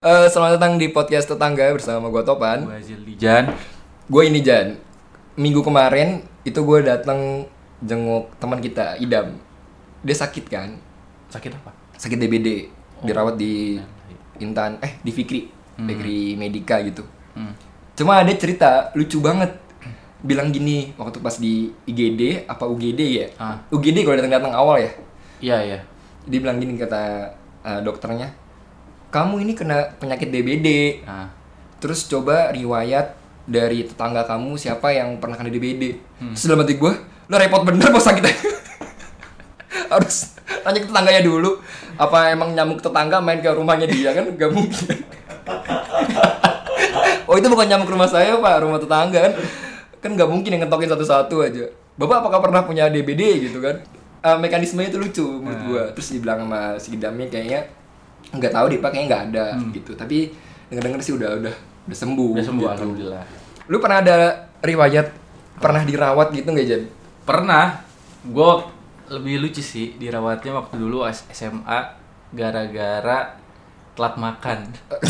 Selamat datang di podcast tetangga bersama gue Topan. Gue Zildijan. Gue ini Jan. Minggu kemarin itu gue datang jenguk teman kita Idam. Dia sakit kan? Sakit apa? Sakit DBD. Dirawat di Intan, di Fikri, Fikri Medika gitu. Cuma ada cerita lucu banget. Bilang gini waktu pas di IGD apa UGD ya? UGD kalau datang awal ya. Iya. Dia bilang gini kata dokternya, kamu ini kena penyakit DBD. Terus coba riwayat dari tetangga kamu siapa yang pernah kena DBD. Terus dalam hati gue, lo repot bener bos sakit. Harus tanya ke tetangganya dulu. Apa emang nyamuk tetangga main ke rumahnya dia kan? Gak mungkin. Oh itu bukan nyamuk rumah saya pak, rumah tetangga kan. Kan gak mungkin yang ngentokin satu-satu aja. Bapak apakah pernah punya DBD gitu kan? Mekanismenya itu lucu menurut gue. Terus dibilang sama si Idamnya kayaknya nggak tahu deh pak, kayaknya nggak ada gitu. Tapi denger sih udah sembuh. Udah sembuh gitu. alhamdulillah. Lu pernah ada riwayat pernah dirawat gitu nggak Jan? Pernah. Gue lebih lucu sih dirawatnya waktu dulu SMA gara-gara telat makan.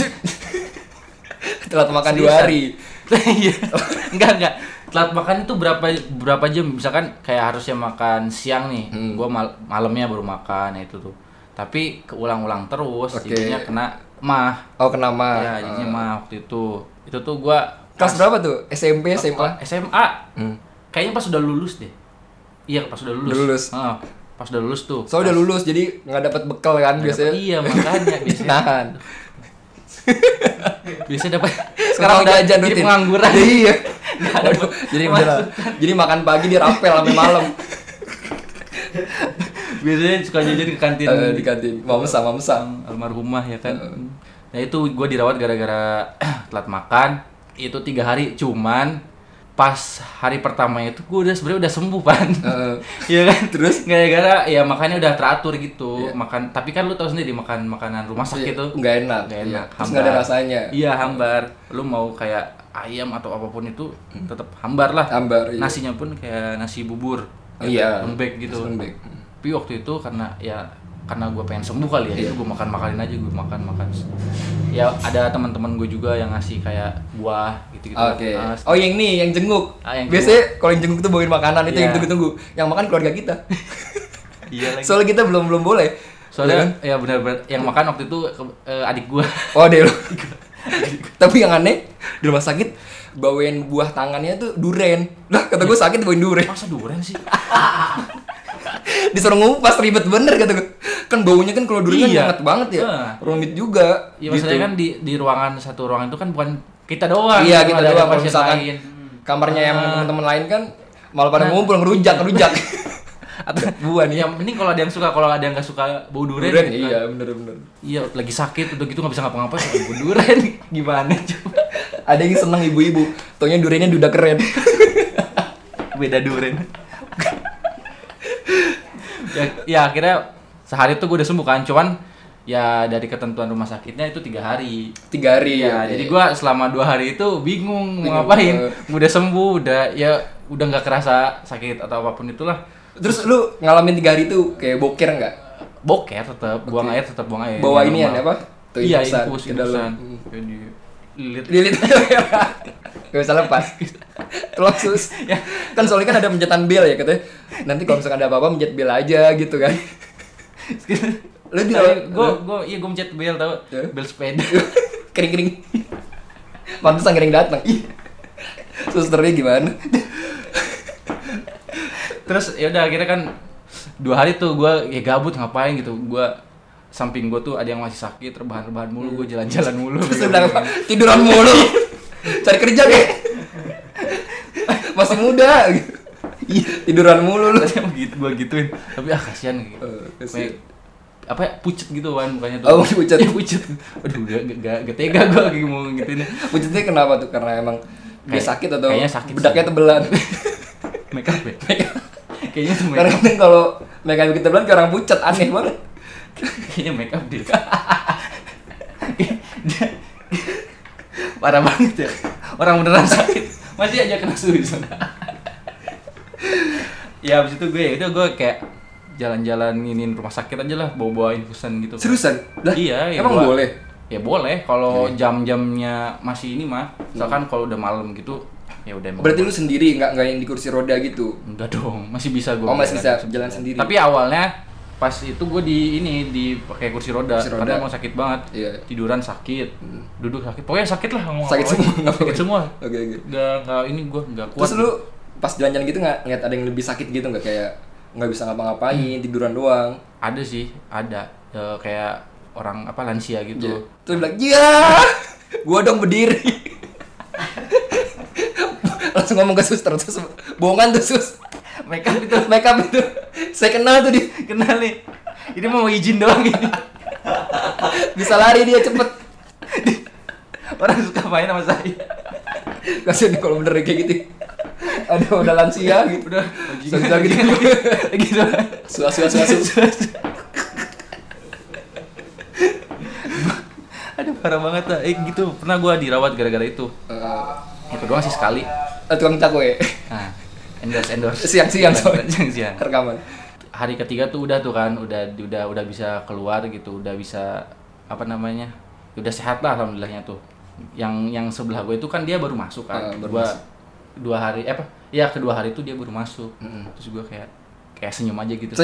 Telat makan 2 hari. Iya. Enggak. Telat makan itu berapa jam? Misalkan kayak harusnya makan siang nih, gue malamnya baru makan itu tuh. Tapi keulang-ulang terus, jadinya kena mah. Oh kena mah. Ya jadinya mah waktu itu. Itu tuh gue kelas berapa tuh? SMP, SMA? SMA. Kayaknya pas udah lulus deh. Iya pas udah lulus. Pas udah lulus tuh. So udah lulus jadi nggak dapat bekal kan biasanya. Iya makanya biasanya. Nahan. Biasanya dapat. Sekarang udah jajan jadi rutin. pengangguran. Iya. Waduh, jadi makan pagi dia rapel sampai malam. Biasanya suka jajan ke kantin. Di kantin. Mamsa. Almarhumah ya kan. Nah itu gue dirawat gara-gara telat makan. Itu 3 hari cuman pas hari pertama itu gue sebenarnya udah sembuh pan. Iya kan? Terus gara-gara ya makannya udah teratur gitu. Makan tapi kan lu tahu sendiri makan makanan rumah sakit tuh nggak enak. Terus nggak ada rasanya. Iya hambar. Lu mau kayak ayam atau apapun itu tetap hambar lah. Hambar. Iya. Nasinya pun kayak nasi bubur. Iya. Lembek gitu. Lembek. Tapi waktu itu karena gue pengen sembuh kali ya, itu gue makanin aja, gue makan. Ya ada teman-teman gue juga yang ngasih kayak buah gitu. Oke. Oh yang ini yang jenguk. Yang biasanya kalau yang jenguk tuh bawain makanan itu Iya. yang tunggu-tunggu. Yang makan keluarga kita. Iya lagi. Soalnya kita belum boleh. Soalnya ya benar-benar yang makan waktu itu adik gue. Oh deh lo. Tapi yang aneh di rumah sakit bawain buah tangannya tuh duren. Lah kata gue sakit bawain duren. Masa durian sih? Disuruh ngupas ribet bener kata gue. Kan baunya kan kalau durian kan hangat banget ya. Rumit juga. Iya maksudnya kan di ruangan satu ruangan itu kan bukan kita doang. Iya kita ada doang. Kalau pasien misalkan lain. kamarnya yang teman-teman lain kan malah pada ngumpul ngerujak. Atau buah nih. Yang penting kalau ada yang suka, kalau ada yang nggak suka bau durian. Gitu iya kan. bener. Iya lagi sakit udah gitu nggak bisa ngapa-ngapain suka bau durian. Gimana coba? Ada yang seneng ibu-ibu. Taunya duriannya duda keren. Beda durian. Ya akhirnya sehari tuh gue udah sembuh kan, cuman ya dari ketentuan rumah sakitnya itu 3 hari. 3 hari ya. Jadi gue selama 2 hari itu bingung mau ngapain. Udah sembuh, udah nggak kerasa sakit atau apapun itulah. Terus lu ngalamin 3 hari itu kayak boker nggak? Boker tetap, buang air tetap buang air. Bawa ini ya apa? Tuh iya infusan ke dalam. Lilit. Gak bisa lepas. Terus ya. Kan soalnya kan ada pencetan bel ya katanya. Nanti kalau misalkan ada apa-apa mencet bel aja gitu kan. Lu gue mencet bel tau, bel sepeda. Kering. Pantesan kering datang. Susternya gimana? Terus ya udah akhirnya kan 2 hari tuh gue ya gabut ngapain gitu. Samping gue tuh ada yang masih sakit, rebahan mulu, gue jalan-jalan mulu. Terus udah apa? Tiduran mulu. Cari kerja kayak. Masih muda gitu. Tiduran mulu lu. Gue gituin. Tapi kasihan gitu. Kasihan. Apa ya, pucet gitu kan mukanya tuh. Oh, pucet. Ya, pucet. Aduh, gak tega gue lagi mau gituin. Pucetnya kenapa tuh? Karena emang dia sakit atau kayaknya sakit bedaknya sih. tebelan? Make up ya? Kayaknya tuh make Karena up. kan kalau make up kita tebelan kayak orang pucet, aneh banget. Kayaknya make up dia. Parah banget ya. Orang beneran sakit masih aja kena suruh. Ya abis itu gue kayak jalan-jalan nginin rumah sakit aja lah, bawa-bawa infusan gitu. Seriusan? Lah, Iya, emang boleh? ya boleh kalau jam-jamnya masih ini mah. Misalkan kalau udah malam gitu ya udah. Berarti lu sendiri nggak yang di kursi roda gitu? Enggak dong, masih bisa gue. Masih bisa jalan sendiri. Tapi awalnya pas itu gue di pakai kursi roda karena emang sakit banget. Tiduran sakit, duduk sakit, pokoknya sakit lah. Sakit semua, sakit semua. Oke. Nggak ini gue nggak kuat. Terus lu pas jalan-jalan gitu nggak ngeliat ada yang lebih sakit gitu nggak, kayak nggak bisa ngapa-ngapain, tiduran doang? Ada sih, ada kayak orang lansia gitu. Terus bilang, gua dong berdiri. Langsung ngomong ke suster, terus bohongan tuh sus. Make up itu. Saya kenal tuh kenal nih. Ini mau izin doang ini. Bisa lari dia cepet. Orang suka main sama saya. Kasian nih kalau bener kayak gitu. Aduh, udah lansia gitu. Udah gitu. Gitu. Suas. Aduh, parah banget lah. Gitu. Pernah gua dirawat gara-gara itu. Itu doang sih sekali. Tukang cakwe. Nah, endorse. Siang-siang soalnya. Siang-siang. Rekaman. Hari ketiga tuh udah tuh kan, udah bisa keluar gitu, udah bisa udah sehat lah alhamdulillahnya tuh. Yang sebelah gue itu kan dia baru masuk kan. Kedua hari itu dia baru masuk. Terus gue kayak senyum aja gitu.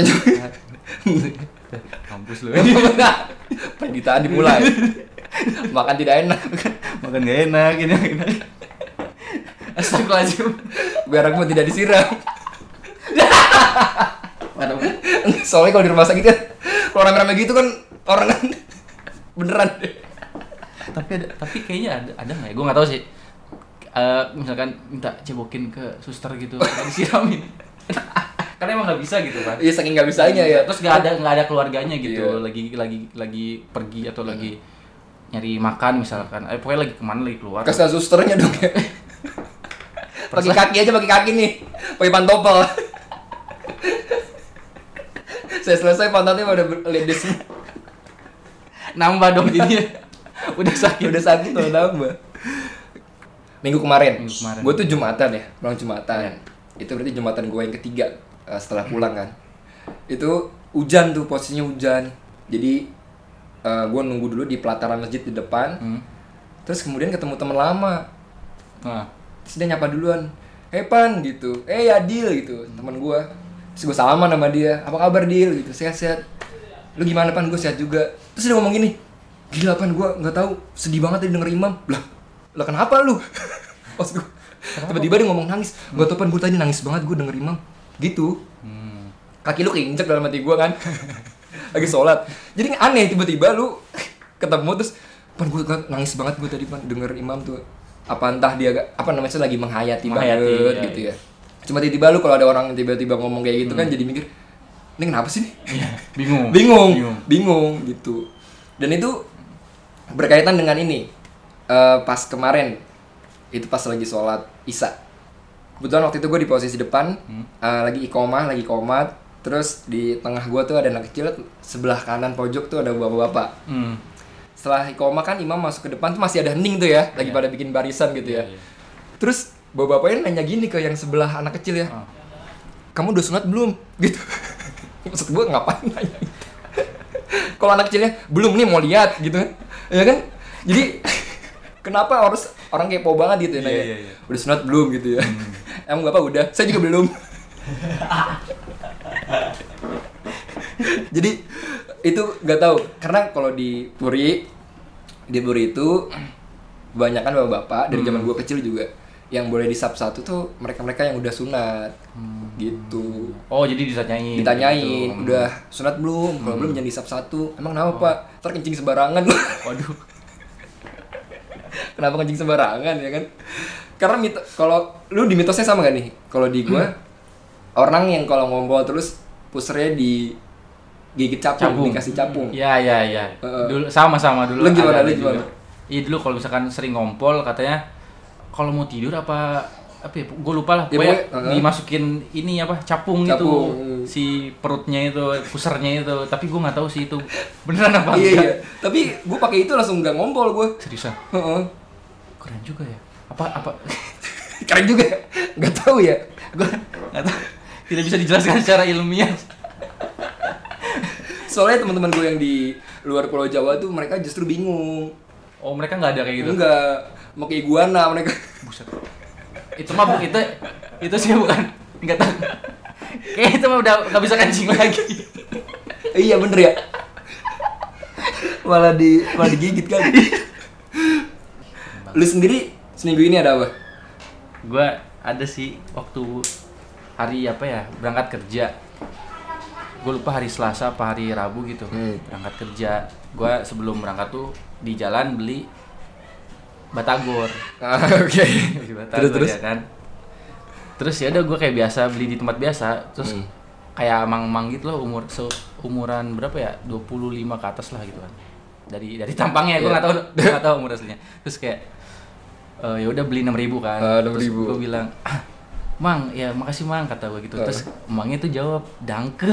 Kampus lu. Pendidikan dimulai. Makan tidak enak. Makan gak enak ini. Astagfirullahaladzim. Biar aku tidak disiram. Soalnya kalau di rumah sakit kan, kalau rame-rame gitu kan orang kan beneran. Tapi kayaknya ada nggak ya? Gue nggak tahu sih. Misalkan minta cebokin ke suster gitu, disiramin. Karena emang nggak bisa gitu kan? Iya, saking nggak bisanya ya. Terus nggak ada keluarganya gitu, lagi pergi atau lagi nyari makan misalkan. Pokoknya lagi kemana, lagi keluar. Kasih susternya dong ya. Pakai kaki nih, pakai pantopel. Saya selesai pantatnya udah ledes. Nambah dong jadinya. Udah sakit tuh nambah. Minggu kemarin. Gue tuh Jumatan ya, pulang Jumatan. Itu berarti Jumatan gue yang ketiga setelah pulang kan. Itu hujan tuh, posisinya hujan. Jadi gue nunggu dulu di pelataran masjid di depan. Terus kemudian ketemu teman lama. Terus dia nyapa duluan. Pan gitu. Adil gitu, teman gue. Terus gue salaman sama dia, apa kabar Dil gitu, sehat-sehat. Lu gimana Pan? Gue sehat juga. Terus dia ngomong gini, gila Pan, gue nggak tahu, sedih banget tadi denger imam. Lah kenapa lu? Pas gue tiba-tiba dia ngomong nangis. Gue tau Pan, gue tadi nangis banget gue denger imam. Gitu. Kaki lu keinjek dalam hati gue kan. Lagi sholat. Jadi aneh tiba-tiba lu ketemu terus, Pan gue nangis banget gue tadi Pan denger imam tuh. Apa entah dia lagi menghayati banget gitu ya. Cuma tiba-tiba lu kalau ada orang tiba-tiba ngomong kayak gitu kan jadi mikir, ini kenapa sih nih? Bingung gitu. Dan itu berkaitan dengan ini. Pas kemarin itu pas lagi sholat Isya. Kebetulan waktu itu gue di posisi depan, lagi iqomah, lagi qomat. Terus di tengah gue tuh ada anak kecil, sebelah kanan pojok tuh ada bapak-bapak. Setelah iqomah kan imam masuk ke depan tuh masih ada hening tuh ya, lagi pada bikin barisan gitu ya. Terus bapak-bapaknya nanya gini ke yang sebelah anak kecil ya, kamu udah sunat belum? Gitu. Maksud gue ngapain nanya gitu. Kalau anak kecilnya, belum nih mau lihat gitu kan. Ya kan? Jadi kenapa harus orang kepo banget gitu ya nanya, udah sunat belum gitu ya. Emang bapak udah? Saya juga belum. Jadi itu gak tahu, karena kalau di Puri itu kebanyakan bapak-bapak dari zaman gue kecil juga yang boleh di sub 1 tuh mereka-mereka yang udah sunat gitu. Oh, jadi ditanyain gitu. Udah sunat belum? Kalau belum jangan di sub 1. Emang kenapa Pak? Ntar kencing sembarangan. Waduh. Kenapa kencing sembarangan ya kan? Karena kalau lu di mitosnya sama gak nih? Kalau di gua orang yang kalau ngompol terus pusernya di gigit capung. Dikasih capung. Iya. Dulu sama dulu. Lu gimana? Iya dulu kalau misalkan sering ngompol katanya kalau mau tidur apa ya, gue lupa lah, pokoknya dimasukin ini capung gitu, si perutnya itu, pusernya itu, tapi gue nggak tahu sih itu beneran apa enggak. Iya. Tapi gue pakai itu langsung nggak ngompol gue. Seriusan? Keren juga ya. Apa? Keren juga. Nggak tahu ya. Gue nggak tahu. Tidak bisa dijelaskan secara ilmiah. Soalnya teman-teman gue yang di luar Pulau Jawa tuh mereka justru bingung. Oh, mereka nggak ada kayak gitu? Enggak, mau ke iguana mereka. Buset. Itu mah itu sih bukan. Enggak tahu. Kayak itu mah udah nggak bisa kencing lagi. Iya bener ya. malah digigit kan. Lu sendiri seminggu ini ada apa? Gua ada sih waktu hari apa ya, berangkat kerja. Gue lupa hari Selasa apa hari Rabu gitu. Berangkat kerja. Gue sebelum berangkat tuh di jalan beli batagor. Oke. Batagor ya kan. Terus ya udah gue kayak biasa beli di tempat biasa. Terus kayak amang-amang gitu loh, umuran berapa ya? 25 ke atas lah gitu kan. Dari tampangnya gue enggak tahu umur aslinya. Terus kayak ya udah beli 6.000 kan. 6.000. Terus gue bilang, "Mang, ya makasih Mang," kata gue gitu. Terus emangnya tuh jawab, "Danke."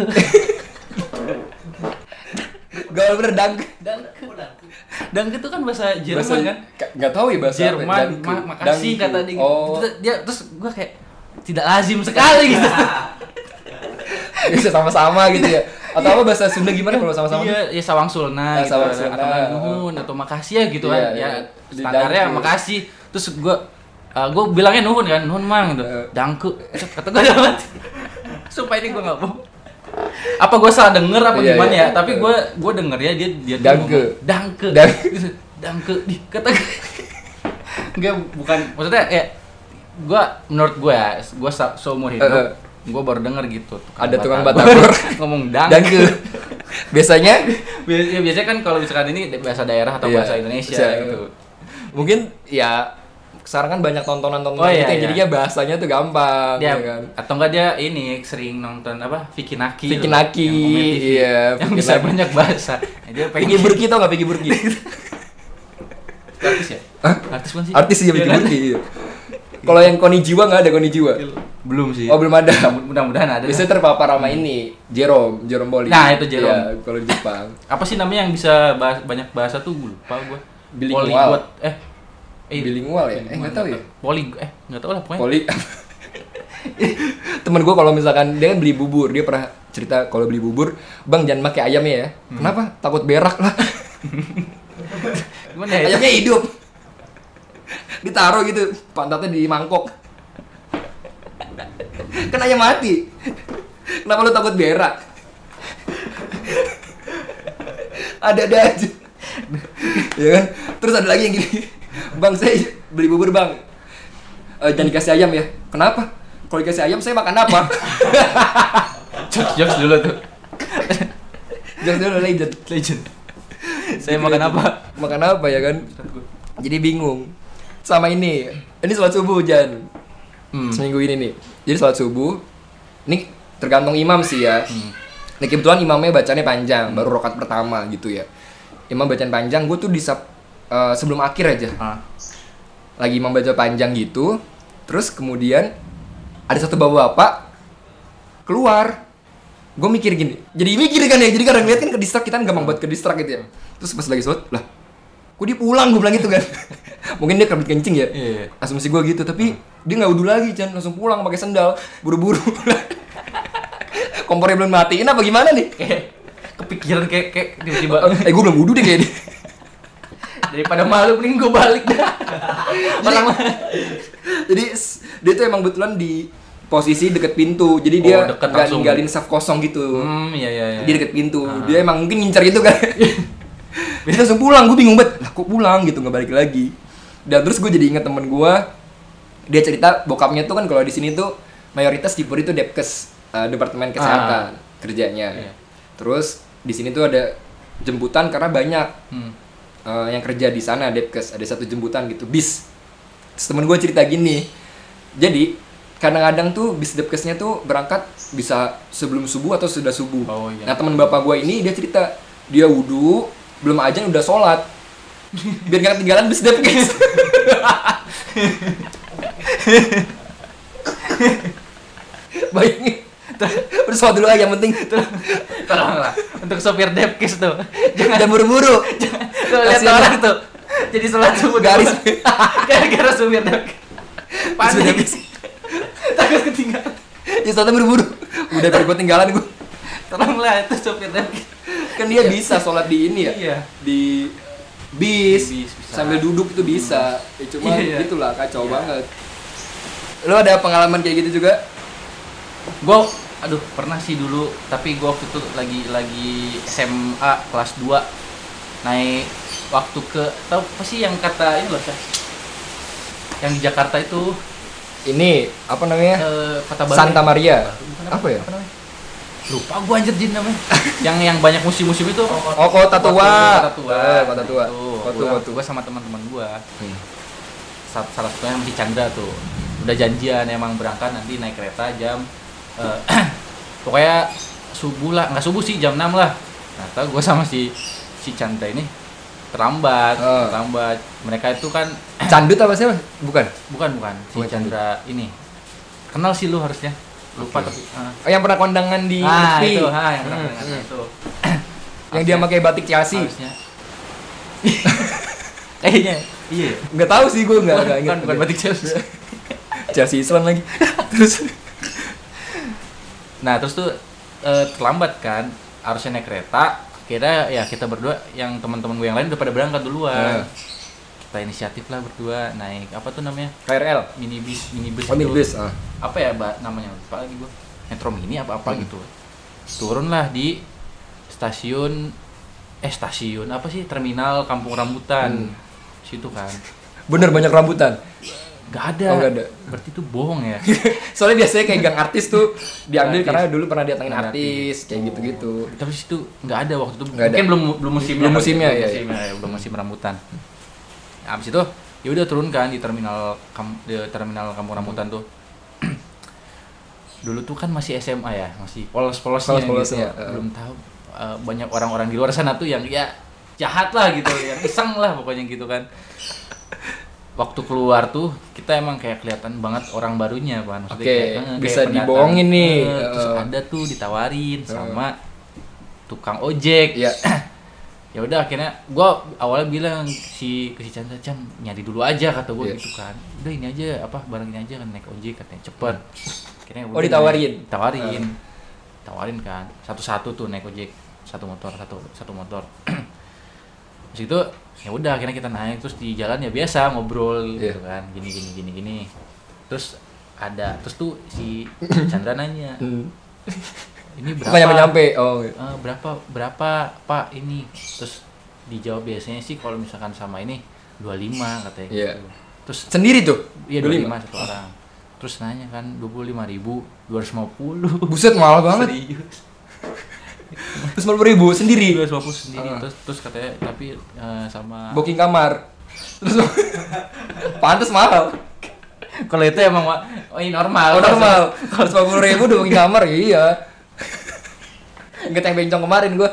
Gak bener danke. Danke itu kan bahasa Jerman kan? Gak tahu ya bahasa Jerman, makasih kata dia. Dia terus gue kayak tidak lazim sekali gitu. Bisa sama-sama gitu ya. Atau apa bahasa Sunda gimana kalau sama-sama? Iya, ya sawang sulna gitu. Atau nuhun atau makasih ya gitu kan. Ya standarnya makasih. Terus gue bilangnya nuhun kan, nuhun Mang gitu. Danke. Kata gue dapat. Supaya ini gue enggak bohong. Apa gue salah denger apa gimana ya? Tapi gue denger ya dia Danke. Kata gue. Enggak, bukan maksudnya ya menurut gue ya, gue seumur hidup gue baru denger gitu. Ada tukang batagor ngomong danke. Biasanya kan kalau misalkan ini bahasa daerah atau bahasa Indonesia gitu. Mungkin ya sekarang kan banyak tontonan gitu yang jadinya bahasanya tuh gampang dia, ya kan. Atau enggak dia ini sering nonton apa Vicky Naki iya, yang bisa banyak bahasa. Dia Vicky Burki tau enggak Vicky Burki? Artis ya? Artis mana sih? Artis ya Vicky Burki. Kalau yang Konichiwa enggak ada Konichiwa? Belum sih. Oh, belum ada. Mudah-mudahan ada. Bisa terpapar sama ini Jerome Bolley. Nah, itu Jerome. Ya, kalau di Jepang. Apa sih namanya yang bisa banyak bahasa tuh lupa gua. Bilingual. Bilingual ya? Enggak tahu ya. Enggak tahu lah pokoknya. Temen gue kalau misalkan dia kan beli bubur, dia pernah cerita kalau beli bubur, "Bang, jangan pakai ayamnya ya." Kenapa? Takut berak lah. Gimana ya? Ayamnya hidup. Ditaruh gitu, pantatnya di mangkok. Kan ayam mati. Kenapa lu takut berak? Ada aja. Ya kan? Terus ada lagi yang gini. "Bang, saya beli bubur, Bang. Jangan dikasih ayam ya." Kenapa? Kalau dikasih ayam saya makan apa? Jokes dulu tuh. Jokes dulu legend. Saya makan apa? Makan apa ya kan? Jadi bingung. Sama ini sholat subuh Jan. Seminggu ini nih. Jadi sholat subuh. Ini tergantung imam sih ya. Nah, kebetulan imamnya bacanya panjang, baru rakaat pertama gitu ya. Imam bacaan panjang, gue tuh sebelum akhir aja. Lagi imam baca panjang gitu. Terus kemudian ada satu bapak-bapak keluar. Gue mikir gini. Jadi mikir kan ya. Jadi kadang ngeliat kan ke distrak, kita kan gampang buat ke distrak gitu ya. Terus pas lagi sholat, lah kok dia pulang, gue bilang gitu kan. Mungkin dia kerbit kencing ya. Asumsi gue gitu. Tapi dia gak wudhu lagi, Chan. Langsung pulang pakai sendal. Buru-buru. Kompornya belum matiin apa gimana nih? Kepikiran kayak tiba-tiba. Gue belum wudhu deh kayak ini. Daripada malu mending gue balik dah. Jadi dia tuh emang betulan di posisi deket pintu. Jadi dia gak ninggalin saf kosong gitu. Iya. Dia deket pintu. Dia emang mungkin ngincar gitu kan. Dia langsung pulang, gue bingung banget. Lah kok pulang gitu, gak balik lagi. Dan terus gue jadi inget temen gue. Dia cerita bokapnya tuh kan kalau di sini tuh mayoritas di Puri tuh Depkes, Departemen Kesehatan kerjanya. Terus di sini tuh ada jemputan karena banyak yang kerja di sana Depkes, ada satu jemputan gitu bis. Terus temen gue cerita gini, jadi kadang-kadang tuh bis Depkesnya tuh berangkat bisa sebelum subuh atau sudah subuh. Nah teman bapak gue ini dia cerita dia wudhu belum azan udah sholat biar gak ketinggalan bis Depkes. Bayangin udah sholat dulu aja yang penting. Tolonglah untuk sopir Depkes tuh jangan buru-buru. Lihat orang tuh jadi sholat subuh garis gara-gara sopir Depkes panik takut ketinggalan. Ya sholatnya buru-buru udah biar gue tinggalan gue. Tolonglah itu sopir Depkes Kan dia bisa sholat di ini ya. Iya. Di bis bisa. Sambil duduk itu bisa. Ya cuma gitulah kacau banget. Lo ada pengalaman kayak gitu juga? Aduh, pernah sih dulu, tapi gua waktu itu lagi SMA kelas 2 naik waktu ke tau apa sih yang kata ini loh, yang di Jakarta itu ini apa namanya? Kota Baru Santa Maria. Apa ya? Apa namanya? Lupa gua anjir Jin namanya. yang banyak musim-musim itu. Kota Tua. Kota Tua. Gua sama teman-teman gua. Salah satunya masih Chandra tuh. Udah janjian emang berangkat nanti naik kereta jam pokoknya subuh lah, nggak subuh sih, jam 6 lah. Ternyata gue sama si Chandra ini terlambat. Mereka itu kan Candut apa sih? Bukan. Si Chandra ini kenal sih lu harusnya, lupa tapi yang pernah kondangan di TV. Yang pernah kondangan itu yang dia pakai batik Chelsea harusnya. Kayaknya iya, nggak tahu sih, gue nggak ingat. Bukan batik Chelsea. Chelsea Islam lagi. Terus tuh terlambat kan, harusnya naik kereta. Kira ya kita berdua, yang teman-teman gue yang lain udah pada berangkat duluan. Kita inisiatif lah berdua naik apa tuh namanya? KRL, minibus. Minibus. Apa ya namanya? Lupa lagi gue. Metro Mini apa gitu. Turunlah di stasiun apa sih? Terminal Kampung Rambutan. Situ kan. Bener banyak rambutan. Gak ada. Nggak ada. Berarti itu bohong ya. Soalnya biasanya kayak gang artis tuh diambil karena dulu pernah datangin artis kayak gitu-gitu. Tapi situ nggak ada waktu itu. Gak Mungkin ada. belum musimnya ya. Belum musim rambutan. Habis itu ya udah turun kan di terminal Kampung Rambutan tuh. Dulu tuh kan masih SMA ya, masih polos-polosnya gitu. Belum tahu banyak orang-orang di luar sana tuh yang ya jahat lah gitu, yang iseng lah pokoknya gitu kan. Waktu keluar tuh kita emang kayak kelihatan banget orang barunya kan, maksudnya kayak bisa pendatang. dibohongin nih. Terus ada tuh ditawarin sama tukang ojek. Iya. Ya udah akhirnya gua awalnya bilang ke si Chandra, Chan nyari dulu aja kata gua gitu kan. Udah ini aja barang ini aja kan, naik ojek katanya cepet. Akhirnya ditawarin kan. Satu-satu tuh naik ojek, satu motor. Terus itu ya udah akhirnya kita naik, terus di jalan ya biasa ngobrol gitu kan, gini. Terus tuh si Chandra nanya, ini berapa? Nyampe. Berapa Pak ini? Terus dijawab biasanya sih kalau misalkan sama ini 25 katanya gitu. Terus sendiri tuh? Iya 25 satu orang. Terus nanya kan 25.250. Buset, mahal banget. Serius. Terus 50.000 sendiri. 250 sendiri. Terus katanya tapi sama booking kamar. Terus pantes mahal. Kalau itu emang ini normal. Normal. Kalau 50.000 udah booking kamar, iya. Ingat yang bencong kemarin gua.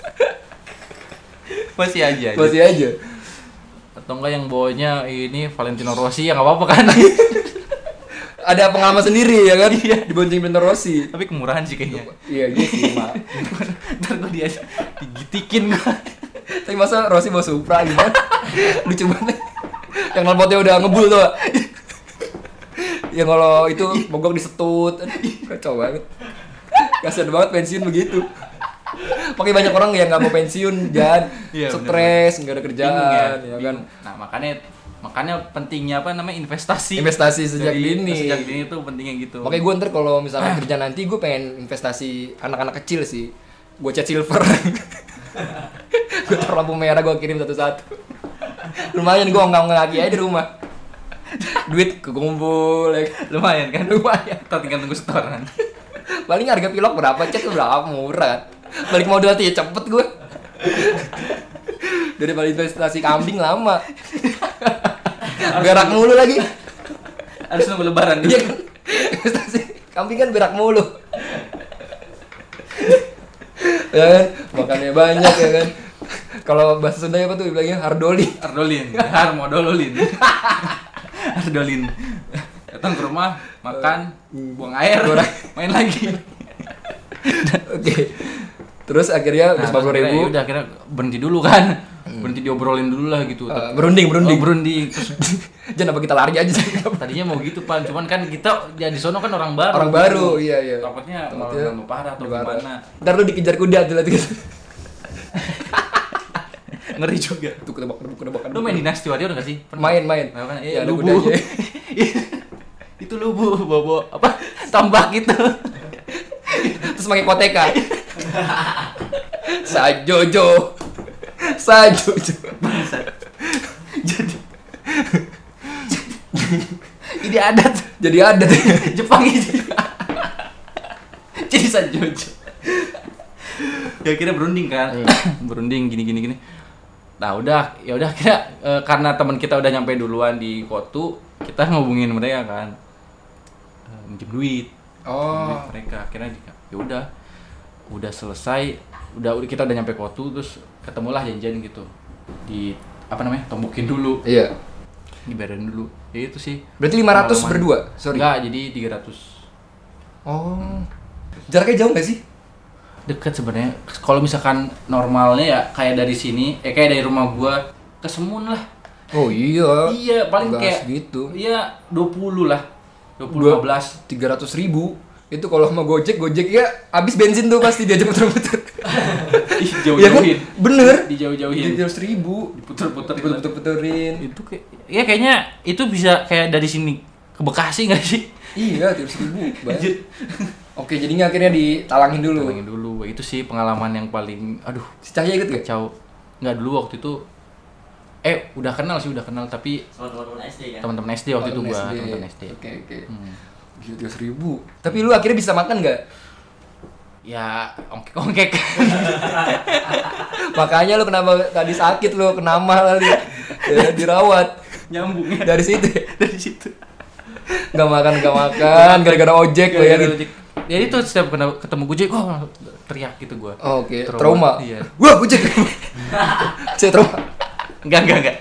Masih aja. Atau enggak yang bawanya ini Valentino Rossi, ya enggak apa-apa kan. Ada pengalaman sendiri ya kan? Iya. Dibonceng Valentino Rossi. Tapi kemurahan sih kayaknya. Iya sih, Mak. Ntar gua digitikin gua. Tapi masa Rossi bawa Supra gimana? Lucu banget. Yang knalpotnya udah ngebul tuh. Yang kalau itu mogok disetut. Kacau banget. Kasian banget pensiun begitu. Pakai banyak orang yang nggak mau pensiun, Jan. Stres, nggak ada kerjaan, ya kan. Nah makanya pentingnya apa namanya investasi sejak dini. Sejak dini tuh pentingnya gitu. Makanya gue ntar kalau misalnya kerja nanti gue pengen investasi anak-anak kecil sih. Gue cat silver. Gue taruh lampu merah, gue kirim satu-satu. Lumayan gue nggak aja di rumah. Duit kekumpul, ya. Lumayan kan? Lumayan. Kita tinggal tunggu setoran. Paling harga pilok berapa, cat berapa, murah kan? Balik modal tuh ya cepet gue. Daripada investasi kambing lama. Berak mulu lagi. Harus nunggu lebaran. Iya kan? Investasi kambing kan berak mulu. Ya kan? Makannya banyak ya kan. Kalau bahasa Sunda apa tuh bilangnya hardolin. Harmodolin. Datang ke rumah, makan, buang air, main lagi. Oke. Terus akhirnya 40.000. Udah akhirnya berhenti dulu kan. Berhenti diobrolin dulu lah gitu. Berunding. Terus jangan apa kita lari aja sih. Tadinya mau gitu Pan, cuman kan kita ya di sono kan orang baru. Orang baru, iya. Takutnya malah parah atau gimana. Ntar lu dikejar kuda tuh gitu. Ngeri juga. Tuh kedebak. Lu main Dynasty Warrior enggak sih? Main. Kan? Ya, lubu. Itu lubu, bobo apa? Tombak gitu. Terus pakai koteka. Sajojo. Jadi adat. Jepang itu. Jadi Sajojo. Ya kira berunding kan. Berunding gini. Nah, ya udah kira karena teman kita udah nyampe duluan di Kotu, kita ngubungin mereka kan. Minjem duit. Duit mereka. Akhirnya ya udah selesai, udah kita udah nyampe Kotu, terus ketemulah janjian gitu. Di tombokin dulu. Iya. Dibayarin dulu. Ya itu sih. Berarti 500 berdua? Sorry. Enggak, jadi 300. Oh. Jaraknya jauh enggak sih? Dekat sebenarnya. Kalau misalkan normalnya ya kayak dari sini, kayak dari rumah gua ke Semun lah. Oh iya. Iya, paling Enggak kayak segitu. Iya, 20 lah. 15 300.000. Itu kalau sama Gojek ya habis bensin tuh pasti diajak muter-muter. Dijauh-jauhin. Ya kan? Bener. Dijauh-jauhin. 300.000. Diputer-puterin. Itu ya kayaknya itu bisa kayak dari sini ke Bekasi enggak sih? Iya, 300.000. Banyak. Oke, jadinya akhirnya ditalangin dulu. Itu sih pengalaman yang paling Si Cahya ikut gak? Kacau. Enggak, dulu waktu itu udah kenal tapi teman-teman SD kan? Teman-teman SD waktu itu gua, teman-teman SD. Oke. Gila 300.000. Tapi lu akhirnya bisa makan gak? Ya, ongkek-ongkek. Makanya lu kenapa tadi sakit lu, kena mah kali. Ya, dirawat. Nyambungnya dari situ. Gak makan gara-gara ojek lo ya. Jadi tuh setiap ketemu Gojek, teriak gitu gua. Oh, oke. Trauma. Iya. Wah, Gojek. Saya trauma. Enggak.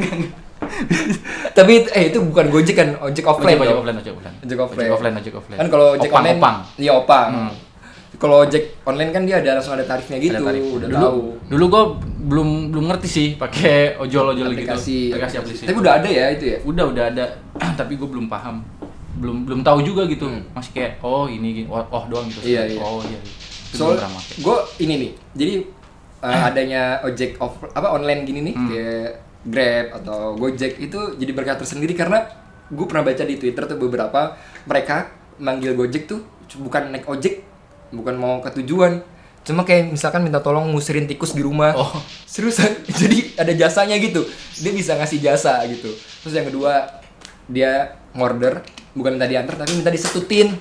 Tapi itu bukan Gojek kan, ojek offline. Ojek offline. Kan kalau ojek online, iya opang. Kalau ojek online kan dia langsung ada tarifnya gitu. Udah tahu. Dulu gua belum ngerti sih pakai ojol-ojol gitu. Aplikasi. Tapi udah ada ya itu ya? Udah ada. Tapi gua belum paham. Belum tahu juga gitu. Masih kayak ini doang gitu. Iya. Oh iya. Soal gue ini nih. Jadi adanya ojek online gini nih kayak Grab atau Gojek itu jadi berkah tersendiri karena gue pernah baca di Twitter tuh beberapa mereka manggil Gojek tuh bukan naik ojek, bukan mau ke tujuan, cuma kayak misalkan minta tolong ngusirin tikus di rumah. Seriusan. Jadi ada jasanya gitu, dia bisa ngasih jasa gitu. Terus yang kedua dia ngorder, bukan minta diantar tapi minta disetutin.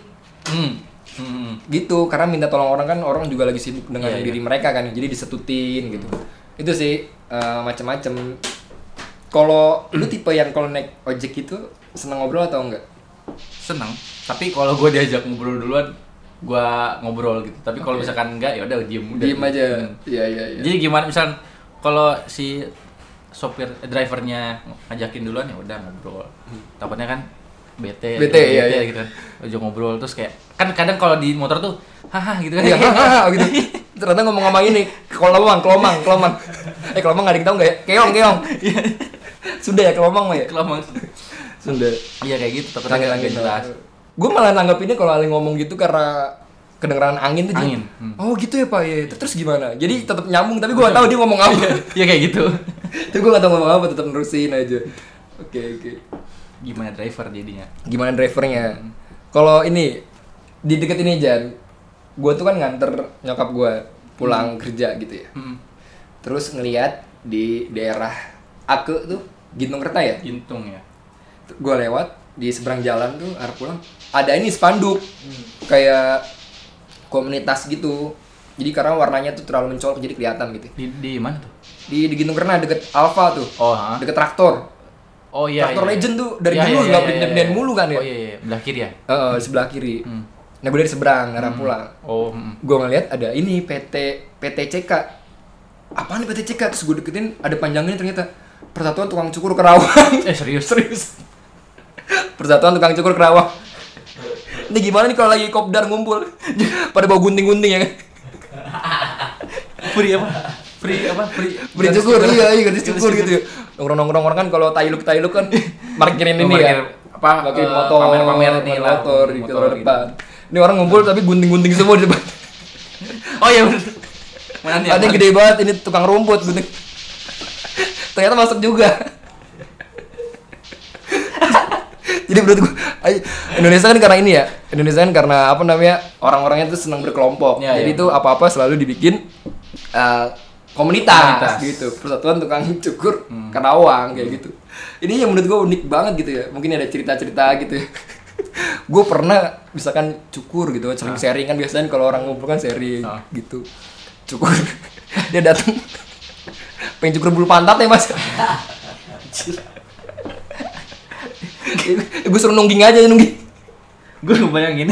Gitu, karena minta tolong orang kan orang juga lagi sibuk dengan diri mereka kan, jadi disetutin gitu. Itu sih macam-macam. Kalau lu tipe yang kalau naik ojek itu seneng ngobrol atau enggak? Seneng, tapi kalau gue diajak ngobrol duluan, gue ngobrol gitu. Tapi kalau misalkan enggak, ya udah diem aja. Iya. Jadi gimana misal kalau si sopir drivernya ngajakin duluan, ya udah ngobrol. Takutnya kan bete gitu kan. Ojek ngobrol terus kayak kan kadang kalau di motor tuh haha gitu kan. Iya, haha gitu. Ternyata ngomong ini kelomang. Kelomang enggak ada yang tahu enggak ya? Keong. Sunda ya kelomang mah ya? Kelomang. Sunda. Iya kayak gitu, takutnya enggak jelas. Gue malah nanggapinnya kalau Ali ngomong gitu karena kedengeran angin tuh. Angin. Oh gitu ya Pak ya. Terus gimana? Jadi tetap nyambung tapi gue enggak tahu dia ngomong apa. Iya kayak gitu. Tapi gue enggak tahu ngomong apa, tetap nerusin aja. Oke. Gimana driver jadinya? Gimana drivernya? Kalau ini di deket ini Jan, gue tuh kan nganter nyokap gue pulang kerja gitu ya. Terus ngelihat di daerah Ake tuh Gintung Kerta ya? Gintung ya. Gue lewat di seberang jalan tuh arah pulang ada ini spanduk kayak komunitas gitu. Jadi karena warnanya tuh terlalu mencolok jadi kelihatan gitu. Di mana tuh? Di Gintung Kerta deket Alfa tuh. Deket traktor. Oh iya. Traktor Legend tuh dari dulu nggak pindah-pindahin mulu kan ya? Oh iya. Belah kiri ya? Sebelah kiri. Nah gue dari seberang arah pulang. Gue ngeliat ada ini PTCK. Apaan nih PTCK? Terus gue deketin ada panjangnya ternyata Persatuan Tukang Cukur Kerawang. Serius. Persatuan Tukang Cukur Kerawang. Ini gimana nih kalau lagi kopdar ngumpul pada bawa gunting-gunting ya kan? Free cukur, iya gratis cukur gitu ya. Nongkrong kan kalau tailuk kan parkirin ini ya. Pakai motor pamer ini lah. Motor di depan. Ini orang ngumpul tapi gunting-gunting semua di depan. Oh iya bener. Ada yang gede banget ini tukang rumput gunting. Ternyata masuk juga. Jadi menurut gue Indonesia kan karena ini ya, Indonesia kan karena apa namanya, orang-orangnya tuh senang berkelompok. Ya, jadi ya. tuh apa-apa selalu dibikin komunitas gitu, persatuan tukang cukur Karawang kayak gitu. Ini yang menurut gue unik banget gitu ya. Mungkin ada cerita-cerita gitu ya. Gue pernah misalkan cukur gitu, sering sharing kan, biasanya kalau orang ngumpul kan sharing gitu. Cukur dia datang pengen cukur bulu pantat ya mas. Gue suruh nungging aja, nungging. Gue ngebayangin.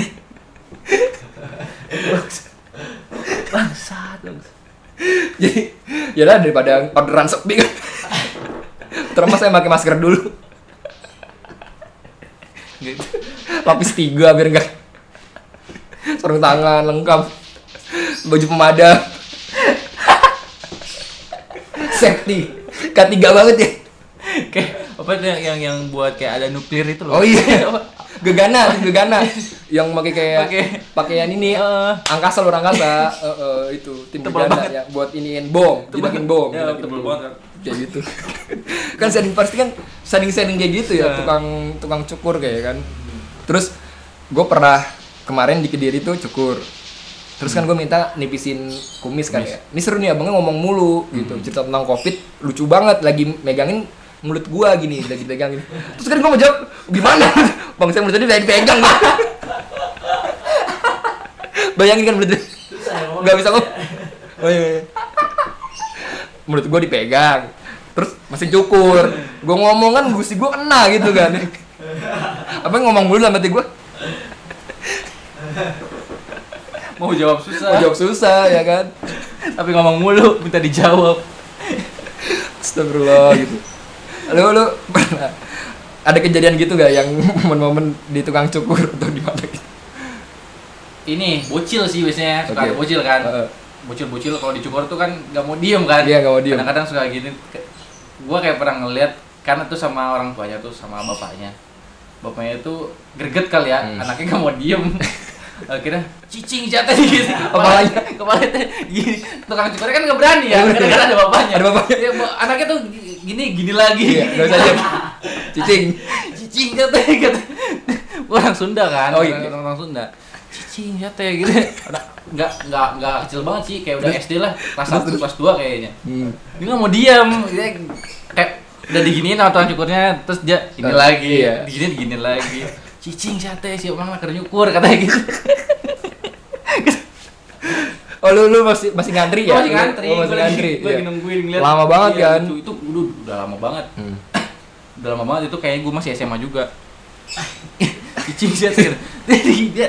Bangsat. Jadi ya lah, daripada orderan sepi kan. Terus saya pakai masker dulu. Gitu. Lapis 3 biar enggak sarung tangan lengkap, baju pemadam, safety, K3 banget ya. Kayak apa tuh yang buat kayak ada nuklir itu loh. Oh iya. Gegana yang pakai kayak pakaian ini angkasa itu tim tebal gegana banget. ya buat iniin bom, jidakin bom. Ya, tebal banget. Kayak gitu. Kan pasti kan sharing kayak gitu ya, tukang cukur kayak kan. Terus gue pernah kemarin di Kediri tuh cukur. Terus kan gue minta nipisin kumis kan ya. Ini seru nih abangnya ngomong mulu gitu. Cerita tentang Covid lucu banget, lagi megangin mulut gua gini, lagi pegangin. Terus kan gua mau jawab, gimana? Bang, saya mulut tadi dipegang. Bayangin kan mulut. Enggak bisa ngomong. Oh iya. Mulut gua dipegang. Terus masih cukur. Gua ngomong kan gusi gua kena gitu kan. Apa yang ngomong mulu sama hati gua? Mau jawab susah ya kan. Tapi ngomong mulu minta dijawab. Astagfirullah gitu. Lu pernah ada kejadian gitu gak yang momen-momen di tukang cukur atau di mana gitu? Ini bocil sih biasanya, suka ada bocil kan. Bocil kalau dicukur tuh kan gak mau diem kan. Iya, gak mau diem. Kadang-kadang suka gini. Gua kayak pernah ngeliat, karena tuh sama orang tuanya tuh, sama bapaknya. Bapaknya tuh greget kali ya, anaknya gak mau diem. Akhirnya cicing jatuh gitu. Kepalanya gini. Tukang cukurnya kan gak berani ya, karena ada bapaknya. Ya, anaknya tuh gini lagi. Iya, gak usah diem. Cicing jatuh. Orang Sunda kan. Oh iya. Orang Sunda. Cicing jatuh gitu. Enggak kecil banget sih, kayak udah SD lah, kelas 1 kelas 2 kayaknya. Dia enggak mau diam. Dia kayak udah diginiin sama tukang cukurnya, terus dia gini lagi. Diginiin lagi. Cicing sate sih orang kerja nyukur katanya gitu. Oh lu masih ngantri ya? Masih ngantri. Masih ngantri. Gue lagi nungguin ngeliat. Lama banget kan? Itu udah lama banget. Udah lama banget itu, kayaknya gue masih SMA juga. Cicing sate. Dia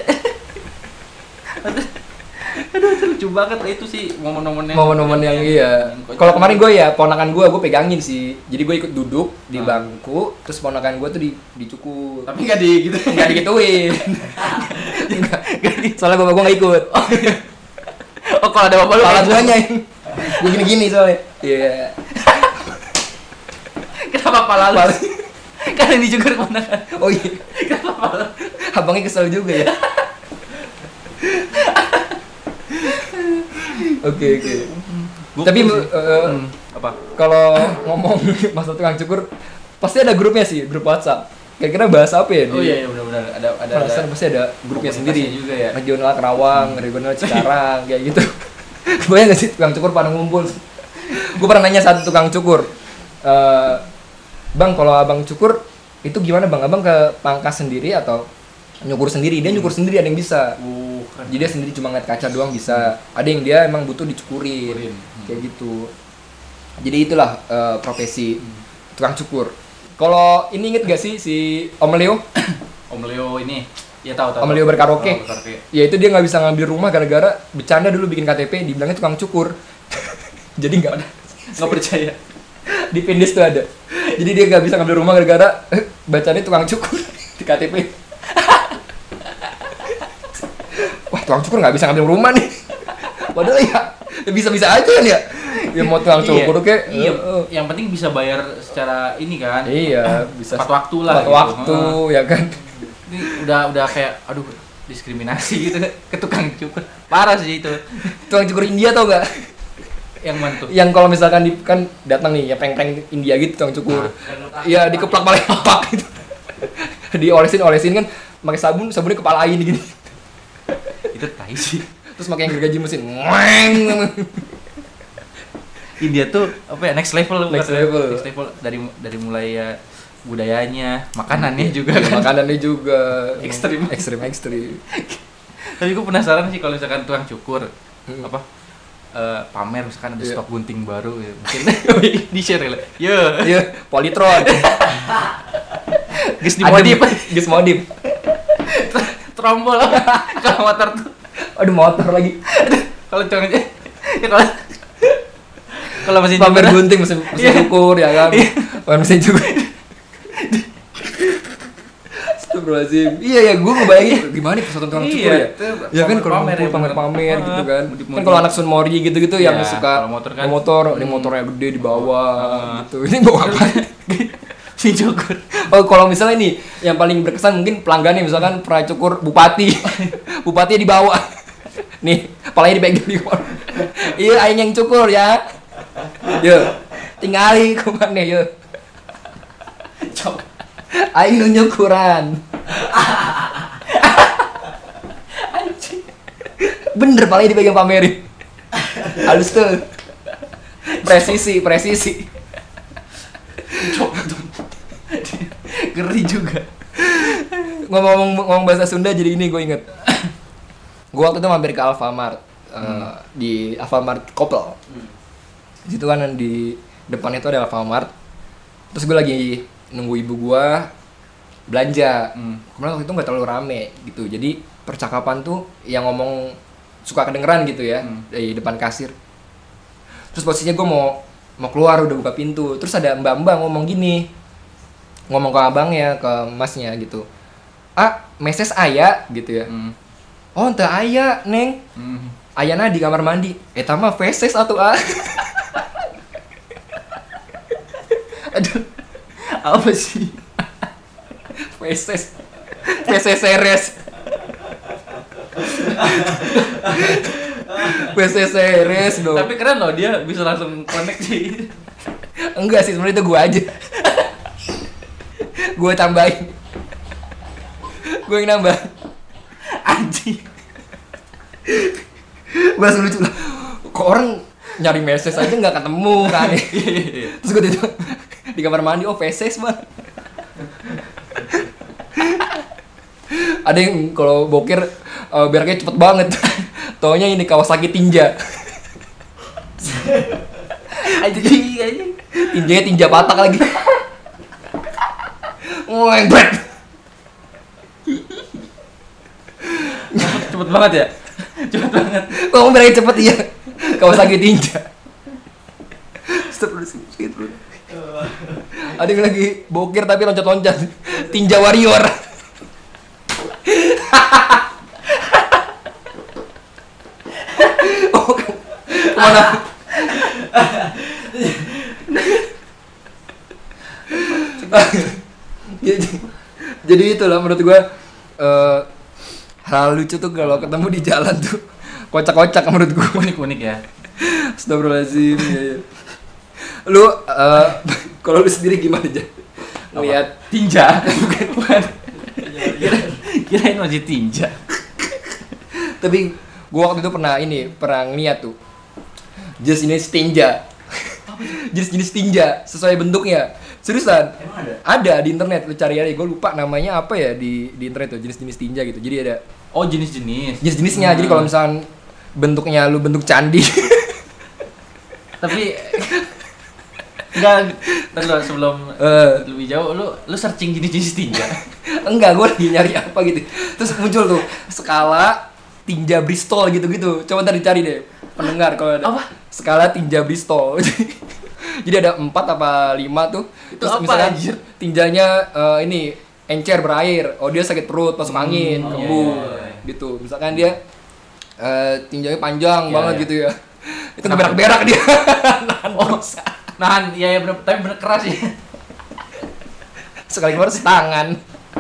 aduh lucu banget itu sih momen-momen yang iya. Kalau kemarin gue ya ponakan gue pegangin sih. Jadi gue ikut duduk di bangku, terus ponakan gue tuh dicukur. Tapi nggak digituin. Soalnya bapak gue nggak ikut. Oh kalau ada bapak lu pala guanya gue gini soalnya. Iya. Kenapa pala lu? Kan yang dicukur ponakan. Oh iya. Kenapa pala? Abangnya kesel juga ya. Oke. Tapi apa? Kalau ngomong masalah tukang cukur, pasti ada grupnya sih, grup WhatsApp. Kira-kira bahas apa ya? Oh iya benar-benar ada pasti ada grupnya sendiri juga ya. Regional Karawang, regional Cikarang, kayak gitu. Kebayang nggak sih tukang cukur pada ngumpul? Gue pernah nanya satu tukang cukur, bang kalau abang cukur itu gimana bang? Abang ke pangkas sendiri atau nyukur sendiri? Dia nyukur sendiri, ada yang bisa. Jadi dia sendiri cuma ngeliat kaca doang bisa. Ada yang dia emang butuh dicukurin. Kayak gitu. Jadi itulah profesi tukang cukur. Kalau ini inget gak sih si Om Leo? Om Leo ini, ya tahu. Om Leo berkaraoke. Ya itu dia nggak bisa ngambil rumah gara-gara bercanda dulu bikin KTP dibilangnya tukang cukur. Jadi nggak percaya. Di Pindes tuh ada. Jadi dia nggak bisa ngambil rumah gara-gara bacanya tukang cukur di KTP. Wah, tukang cukur nggak bisa ngambil rumah nih. Padahal ya bisa-bisa aja kan ya. Ya mau tukang cukur kayak yang penting bisa bayar secara ini kan. Iya, bisa tepat waktu lah. Tepat waktu ya kan. Ini udah kayak aduh diskriminasi gitu ke tukang cukur. Parah sih itu. Tukang cukur India tau gak? Yang mana tuh? Yang kalau misalkan kan datang nih ya prank-prank India gitu tukang cukur. Iya, dikeplak paling pak gitu. Diolesin kan pakai sabunnya kepalain gini. Itu tai sih. Terus pakai yang gergaji mesin. India tuh apa ya, next level dari mulai ya budayanya, makanannya juga kan. Makanannya juga ekstrim. Tapi gue penasaran sih kalau misalkan tukang cukur apa pamer misalkan ada stok gunting baru ya. Mungkin di share lah. Yo, Polytron. Gus modif. Trombol kalau motor tuh. Aduh, motor lagi. Kalau tukangnya ya kalau mesin pamer gunting mesin cukur ya kan. Pamer mesin cukur. Astagfirullahaladzim. Iya ya, gue ngebayangin gimana persatuan tukang cukur ya. Ya kan kalau pamer gitu kan. Kan kalau anak Sun Mori gitu-gitu yang suka motor, ini motornya gede di bawah gitu. Ini bawa apa? Si cukur. Oh, kalau misalnya nih yang paling berkesan mungkin pelanggannya misalkan pernah cukur bupati. Bupatinya di bawah. Nih, kepalanya dipegang di bawah. Iya, aing yang cukur ya. Yo, tinggali kemana yo. Aing nu nyukuran. Anjing. Bener palanya dipegang pamerin. Halus tuh. Presisi. Ngeri juga. Ngomong bahasa Sunda jadi ini gue inget. Gue waktu itu mampir ke Alfamart. Di Alfamart Kopel. Di situ kan di depannya itu ada Alfamart. Terus gue lagi nunggu ibu gua belanja. Kemudian waktu itu nggak terlalu rame gitu. Jadi percakapan tuh yang ngomong suka kedengeran gitu ya dari depan kasir. Terus posisinya gua mau keluar udah buka pintu. Terus ada mbak-mbak ngomong gini. Ngomong ke abangnya, ke masnya gitu. Ah, meses aya gitu ya. Oh, ente aya, Neng. Ayana di kamar mandi. Eta mah feses atuh ah. Aduh. Apa sih? Feses seres. Feses seres dong. Tapi keren loh, dia bisa langsung connect sih. Enggak sih, sebenarnya itu gua aja. Gua tambahin. Gua yang nambah. Anjing. Bahasa lucu lah. Kok orang nyari meses aja nggak ketemu kan? Terus gua tidur di kamar mandi, oh feses mah. Ada yang kalau boker beraknya cepet banget. Taunya ini Kawasaki Tinja. Anjing. Tinjanya tinja patak lagi. Ngebret. Cepet banget ya? Cepet banget. Kamu beraknya cepet iya. Kawasaki Tinja. Stop dulu. Ada yang lagi bokir tapi loncat-loncat. Tinja Warrior. Oh, kemana? Jadi itulah menurut gue hal lucu tuh kalau ketemu di jalan tuh kocak-kocak menurut gue. Unik-unik ya. Astagfirullahaladzim. Ya. Lu kalau lu sendiri gimana aja ngeliat tinja? Bukan. Kirain masih tinja. Tapi gua waktu itu pernah ngeliat tuh jenis tinja. Jenis tinja sesuai bentuknya. Seriusan? Ada di internet, lu cari aja. Gue lupa namanya apa ya di internet tuh, jenis-jenis tinja gitu. Jadi ada jenis-jenisnya. Jadi kalau misalkan bentuknya lu bentuk candi. Tapi enggak, terus sebelum lebih jauh lu searching jenis-jenis tinja. Enggak, gue lagi nyari apa gitu. Terus muncul tuh skala tinja Bristol gitu-gitu. Coba ntar dicari deh pendengar kalau ada. Apa? Skala tinja Bristol. Jadi ada 4 apa 5 tuh. Itu terus apa misalnya anjir? Tinjanya ini encer berair. Oh dia sakit perut, masuk angin, kembung gitu. Misalkan dia tinjanya panjang banget gitu ya. Itu ngeberak-berak dia. Nahan, iya bener, tapi bener keras sih. Sekali keluar setangan.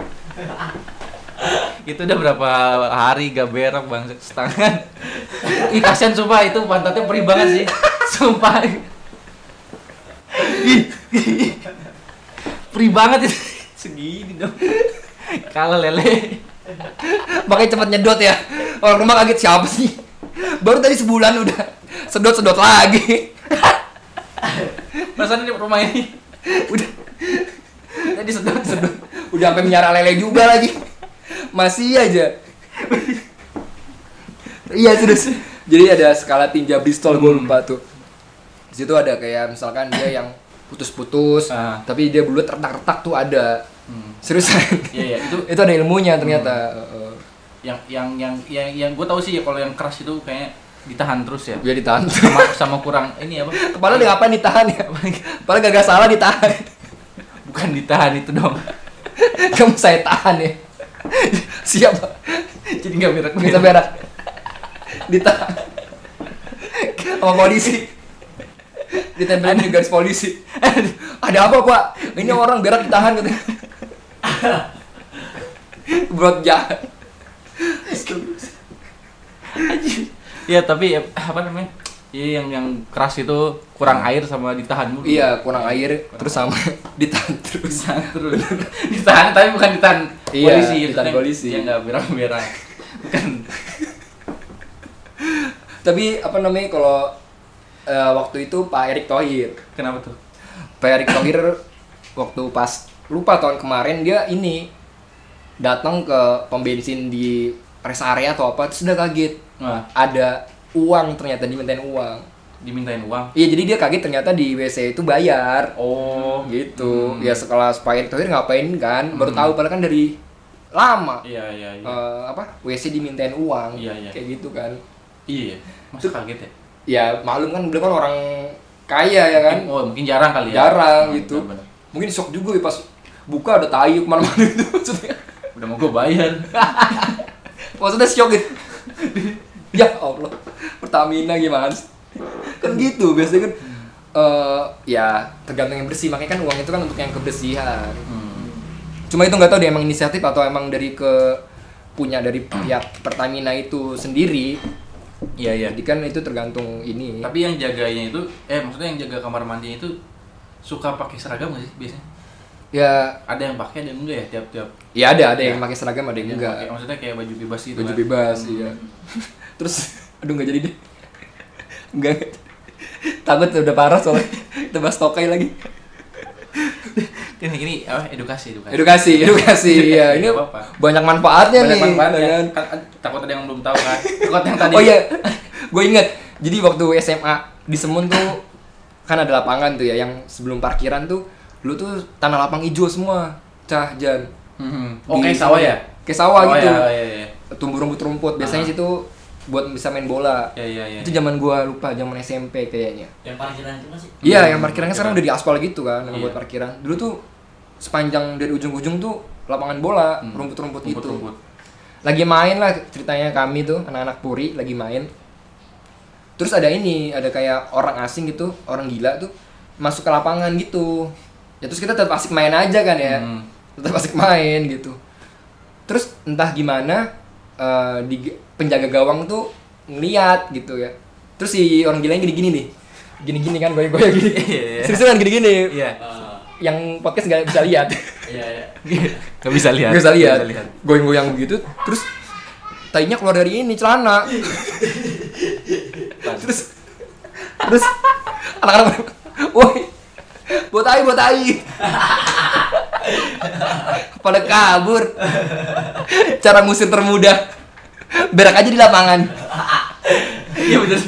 Itu udah berapa hari gak berak bang, setangan. Ih kasian sumpah, itu pantatnya perih banget sih. Sumpah. Free banget itu. Segini dong. Kalah lele. Makanya cepet nyedot ya. Orang rumah kaget siapa sih? Baru tadi sebulan udah sedot lagi. Rasanya di rumah ini udah tadi sedot. Udah sampai miara lele juga lagi. Masih aja. Iya terus. Jadi ada skala tinja Bristol gue lupa tuh. Di situ ada kayak misalkan dia yang putus-putus, tapi dia bulat retak-retak tuh ada. Seriusan. Iya, itu ada ilmunya ternyata. Yang gue tahu sih ya kalau yang keras itu kayaknya ditahan terus ya. Dia ditahan. Sama kurang ini apa? Kepala dia ngapain ditahan ya? Kepala gak salah ditahan. Bukan ditahan itu dong. Kamu saya tahan ya. Siapa? Jadi nggak berak. Bisa berak. Ditahan. Sama polisi. Ditempelin di garis polisi. Ada apa pak? Ini orang berak ditahan katanya. Berat jahat. Ya tapi apa namanya? Iya yang keras itu kurang air sama ditahan dulu. Iya kurang air terus sama ditahan terus. Ditahan tapi bukan ditahan polisi. Iya ditahan polisi. Ya nggak berak-berak. Bukan. Tapi apa namanya kalau waktu itu Pak Erick Thohir. Kenapa tuh? Pak Erick Thohir waktu pas lupa tahun kemarin dia ini datang ke pom bensin di rest area atau apa terus udah kaget. Ada uang ternyata dimintain uang. Dimintain uang? Iya jadi dia kaget ternyata di WC itu bayar. Oh gitu. Ya sekelas Pak Erick Thohir ngapain kan? Baru tahu padahal kan dari lama. Iya. WC dimintain uang. Iya. Kayak gitu kan. Iya. Masa kaget ya? Ya maklum kan beliau kan orang kaya ya kan. Mungkin jarang kali ya. Jarang gitu. Bener. Mungkin shock juga ya pas buka ada tayu kemana-mana itu maksudnya. Udah mau gue bayar. Maksudnya shock gitu. Ya Allah, Pertamina gimana sih? Kan gitu biasanya kan. Ya tergantung yang bersih. Makanya kan uang itu kan untuk yang kebersihan. Cuma itu nggak tahu dia emang inisiatif atau emang dari punya dari pihak Pertamina itu sendiri. Iya. Jadi kan itu tergantung ini. Tapi yang jaganya itu, maksudnya yang jaga kamar mandinya itu suka pakai seragam nggak sih biasanya? Ya. Ada yang pakai, ada yang enggak ya tiap-tiap. Ya ada yang pakai seragam, ada yang enggak. Pakai, maksudnya kayak baju bebas gitu. Baju bebas, iya. Terus, aduh nggak jadi deh. Enggak. Takut udah parah soalnya. Kita bahas tokai lagi. Ini edukasi. Ya ini banyak manfaatnya nih. Takut ada yang belum tahu kan. Takut yang tadi. Oh iya. Gue inget. Jadi waktu SMA di Semun tuh kan ada lapangan tuh ya yang sebelum parkiran tuh dulu tuh tanah lapang hijau semua. Jan. Kayak sawah ya? Kayak sawah gitu. Iya. Tumbuh rumput-rumput. Biasanya situ buat bisa main bola. Iya. Itu zaman gua lupa, zaman SMP kayaknya. Yang parkiran itu masih? Iya, yang parkirannya sekarang udah diaspal gitu kan, buat parkiran. Dulu tuh sepanjang dari ujung-ujung tuh lapangan bola, rumput-rumput gitu. Lagi main lah ceritanya kami tuh, anak-anak Puri lagi main. Terus ada kayak orang asing gitu, orang gila tuh masuk ke lapangan gitu. Ya terus kita tetap asik main aja kan ya. Tetap asik main gitu. Terus entah gimana di penjaga gawang tuh ngeliat gitu ya. Terus si orang gilanya gini-gini nih. Gini-gini kan goyang-goyang gini. Seriusan gini-gini. Iya. Yang podcast enggak bisa lihat. Iya. Enggak bisa lihat. Enggak bisa lihat. Goyang-goyang begitu terus tainya keluar dari ini celana. terus anak-anak woi. Buat tai. Pada kabur. Cara ngusir termudah. Berak aja di lapangan. Iya bener.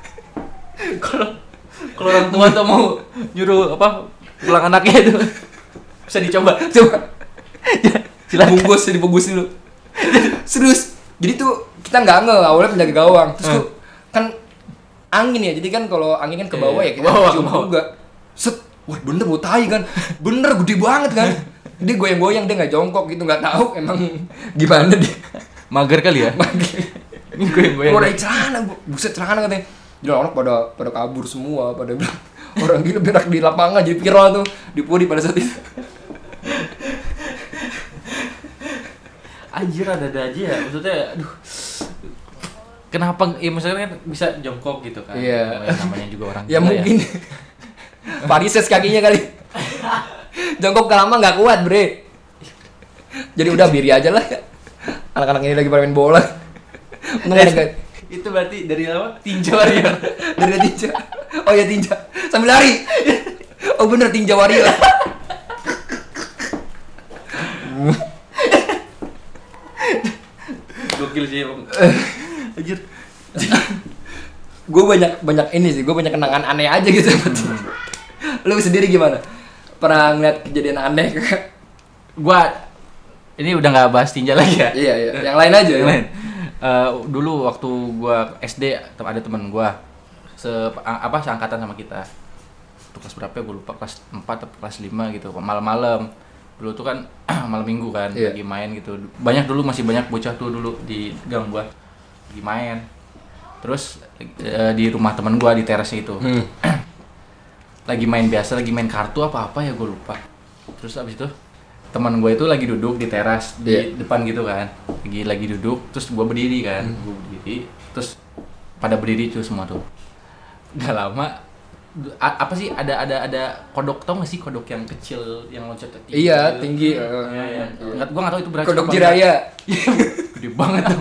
Kalau orang tua tuh mau nyuruh pulang anaknya itu bisa dicoba. Silakan. Dibungkus dulu. Serius. Jadi tuh kita nggak awalnya penjaga gawang. Terus tuh kan angin ya. Jadi kan kalau angin kan ke bawah ya kita cium juga. Set. Wah bener bau tai kan. Bener gede banget kan. Dia goyang-goyang, dia nggak jongkok gitu, nggak tahu emang gimana dia. Mager kali ya? Ini goyang-goyang. Udah celana, buset celana katanya. Jadi orang pada kabur semua, pada bilang orang gila berak di lapangan jadi viral tuh di Puri pada saat itu. Anjir ada aja ya, maksudnya aduh. kenapa ya misalnya kan bisa jongkok gitu kan. Iya. Namanya juga orang ya mungkin varises kakinya kali. Jongkok lama nggak kuat bre. Jadi udah biri aja lah. Anak-anak ini lagi main bola. Itu berarti dari apa? Tinja Warrior. Dari tinja. Oh ya tinja. Sambil lari. Oh bener tinja Warrior. Gokil sih emang. Anjir. Gue banyak ini sih. Gue banyak kenangan aneh aja gitu. Lu sendiri gimana? Pernah ngeliat kejadian aneh? Gua ini udah nggak bahas tinja lagi ya. Iya. Yang lain aja. Yang lain. Dulu waktu gua SD ada teman gua seangkatan sama kita. Itu kelas berapa ya? Gua lupa, kelas 4 atau kelas 5 gitu. Malam-malam. Dulu tuh kan malam minggu kan, lagi main gitu. Masih banyak bocah tuh dulu di gang gua. Lagi main. Terus di rumah teman gua di terasnya itu. Lagi main biasa, lagi main kartu apa ya gua lupa. Terus abis itu teman gue itu lagi duduk di teras di depan gitu kan, lagi duduk, terus gue berdiri kan, terus pada berdiri tuh semua tuh. Gak lama, apa sih ada kodok, tau gak sih kodok yang kecil yang loncat tinggi? Iya tinggi. Iya. Gue nggak tahu itu beracun. Kodok jiraya. Gede banget tuh.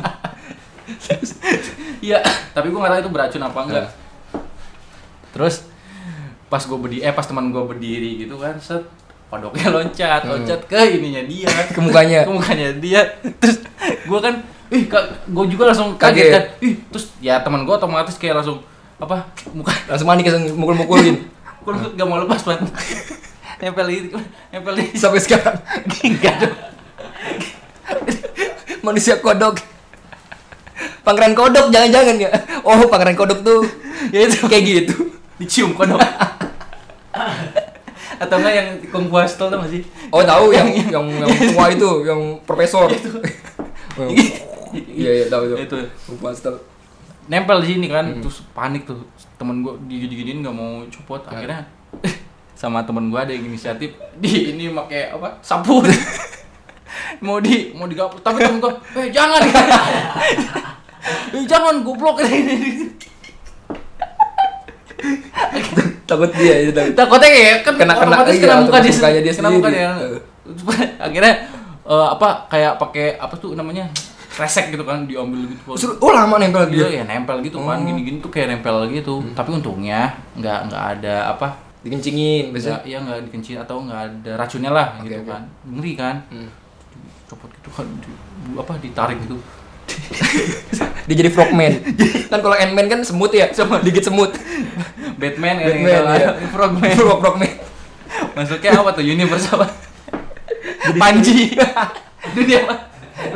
Iya, tapi gue nggak tahu itu beracun apa enggak. Terus pas teman gue berdiri gitu kan, set kodoknya loncat ke ininya dia, ke mukanya dia. Terus gue kan gue juga langsung kaget kan. Terus ya teman gue otomatis kayak langsung langsung panik, langsung mukul-mukulin. Gak mau lepas man. nempel sampai sekarang. Enggak dong. Manusia kodok. Pangeran kodok jangan-jangan ya. Oh, pangeran kodok tuh ya itu kayak gitu. Dicium kodok. Atau enggak yang Kung Fu Hustle tuh masih? Oh tahu yang tua itu, yang profesor. Iya tahu itu. Kung Fu Hustle. Nempel di sini kan, terus panik tuh temen gue digini-giniin nggak mau copot. Akhirnya sama temen gue ada yang inisiatif ini pakai sapu. mau digapus, tapi temen gue jangan. Jangan goblok ini. Takut dia itu takutnya kayak kan kena muka dia sendiri. Kena muka dia. Akhirnya kayak pakai tuh namanya resek gitu kan, diambil gitu. Oh lama nempel gitu. Iya nempel gitu kan, gini-gini tuh kayak nempel gitu. Tapi untungnya nggak ada dikencingin biasanya. Iya nggak dikencing atau nggak ada racunnya lah gitu kan. Ngeri kan. Copot gitu kan ditarik gitu. Dia jadi frogman. Kan kalau Ant-Man kan semut ya, digigit semut. Batman ya. Frogman. Masuknya apa tuh? Universe apa? Panji. Dunia apa?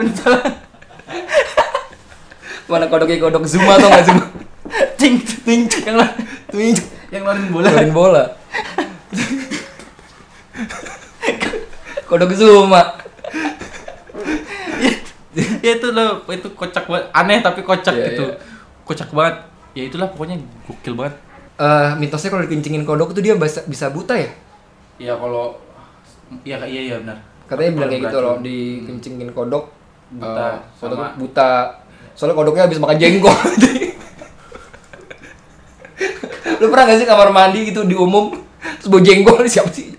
Mana kodok Zuma atau nggak Zuma? Ting yang ngeluarin bola. Kodok Zuma. Ya itu loh, itu kocak banget, aneh tapi kocak gitu. Kocak banget. Ya itulah pokoknya gokil banget. Mitosnya kalau dikencingin kodok tuh dia bisa buta ya? Iya kalau iya benar. Katanya bilang kayak gitu loh, dikencingin kodok buta. Buta. Soalnya kodoknya habis makan jengkol. Lu pernah gak sih kamar mandi gitu di umum terus bau jengkol, siapa sih?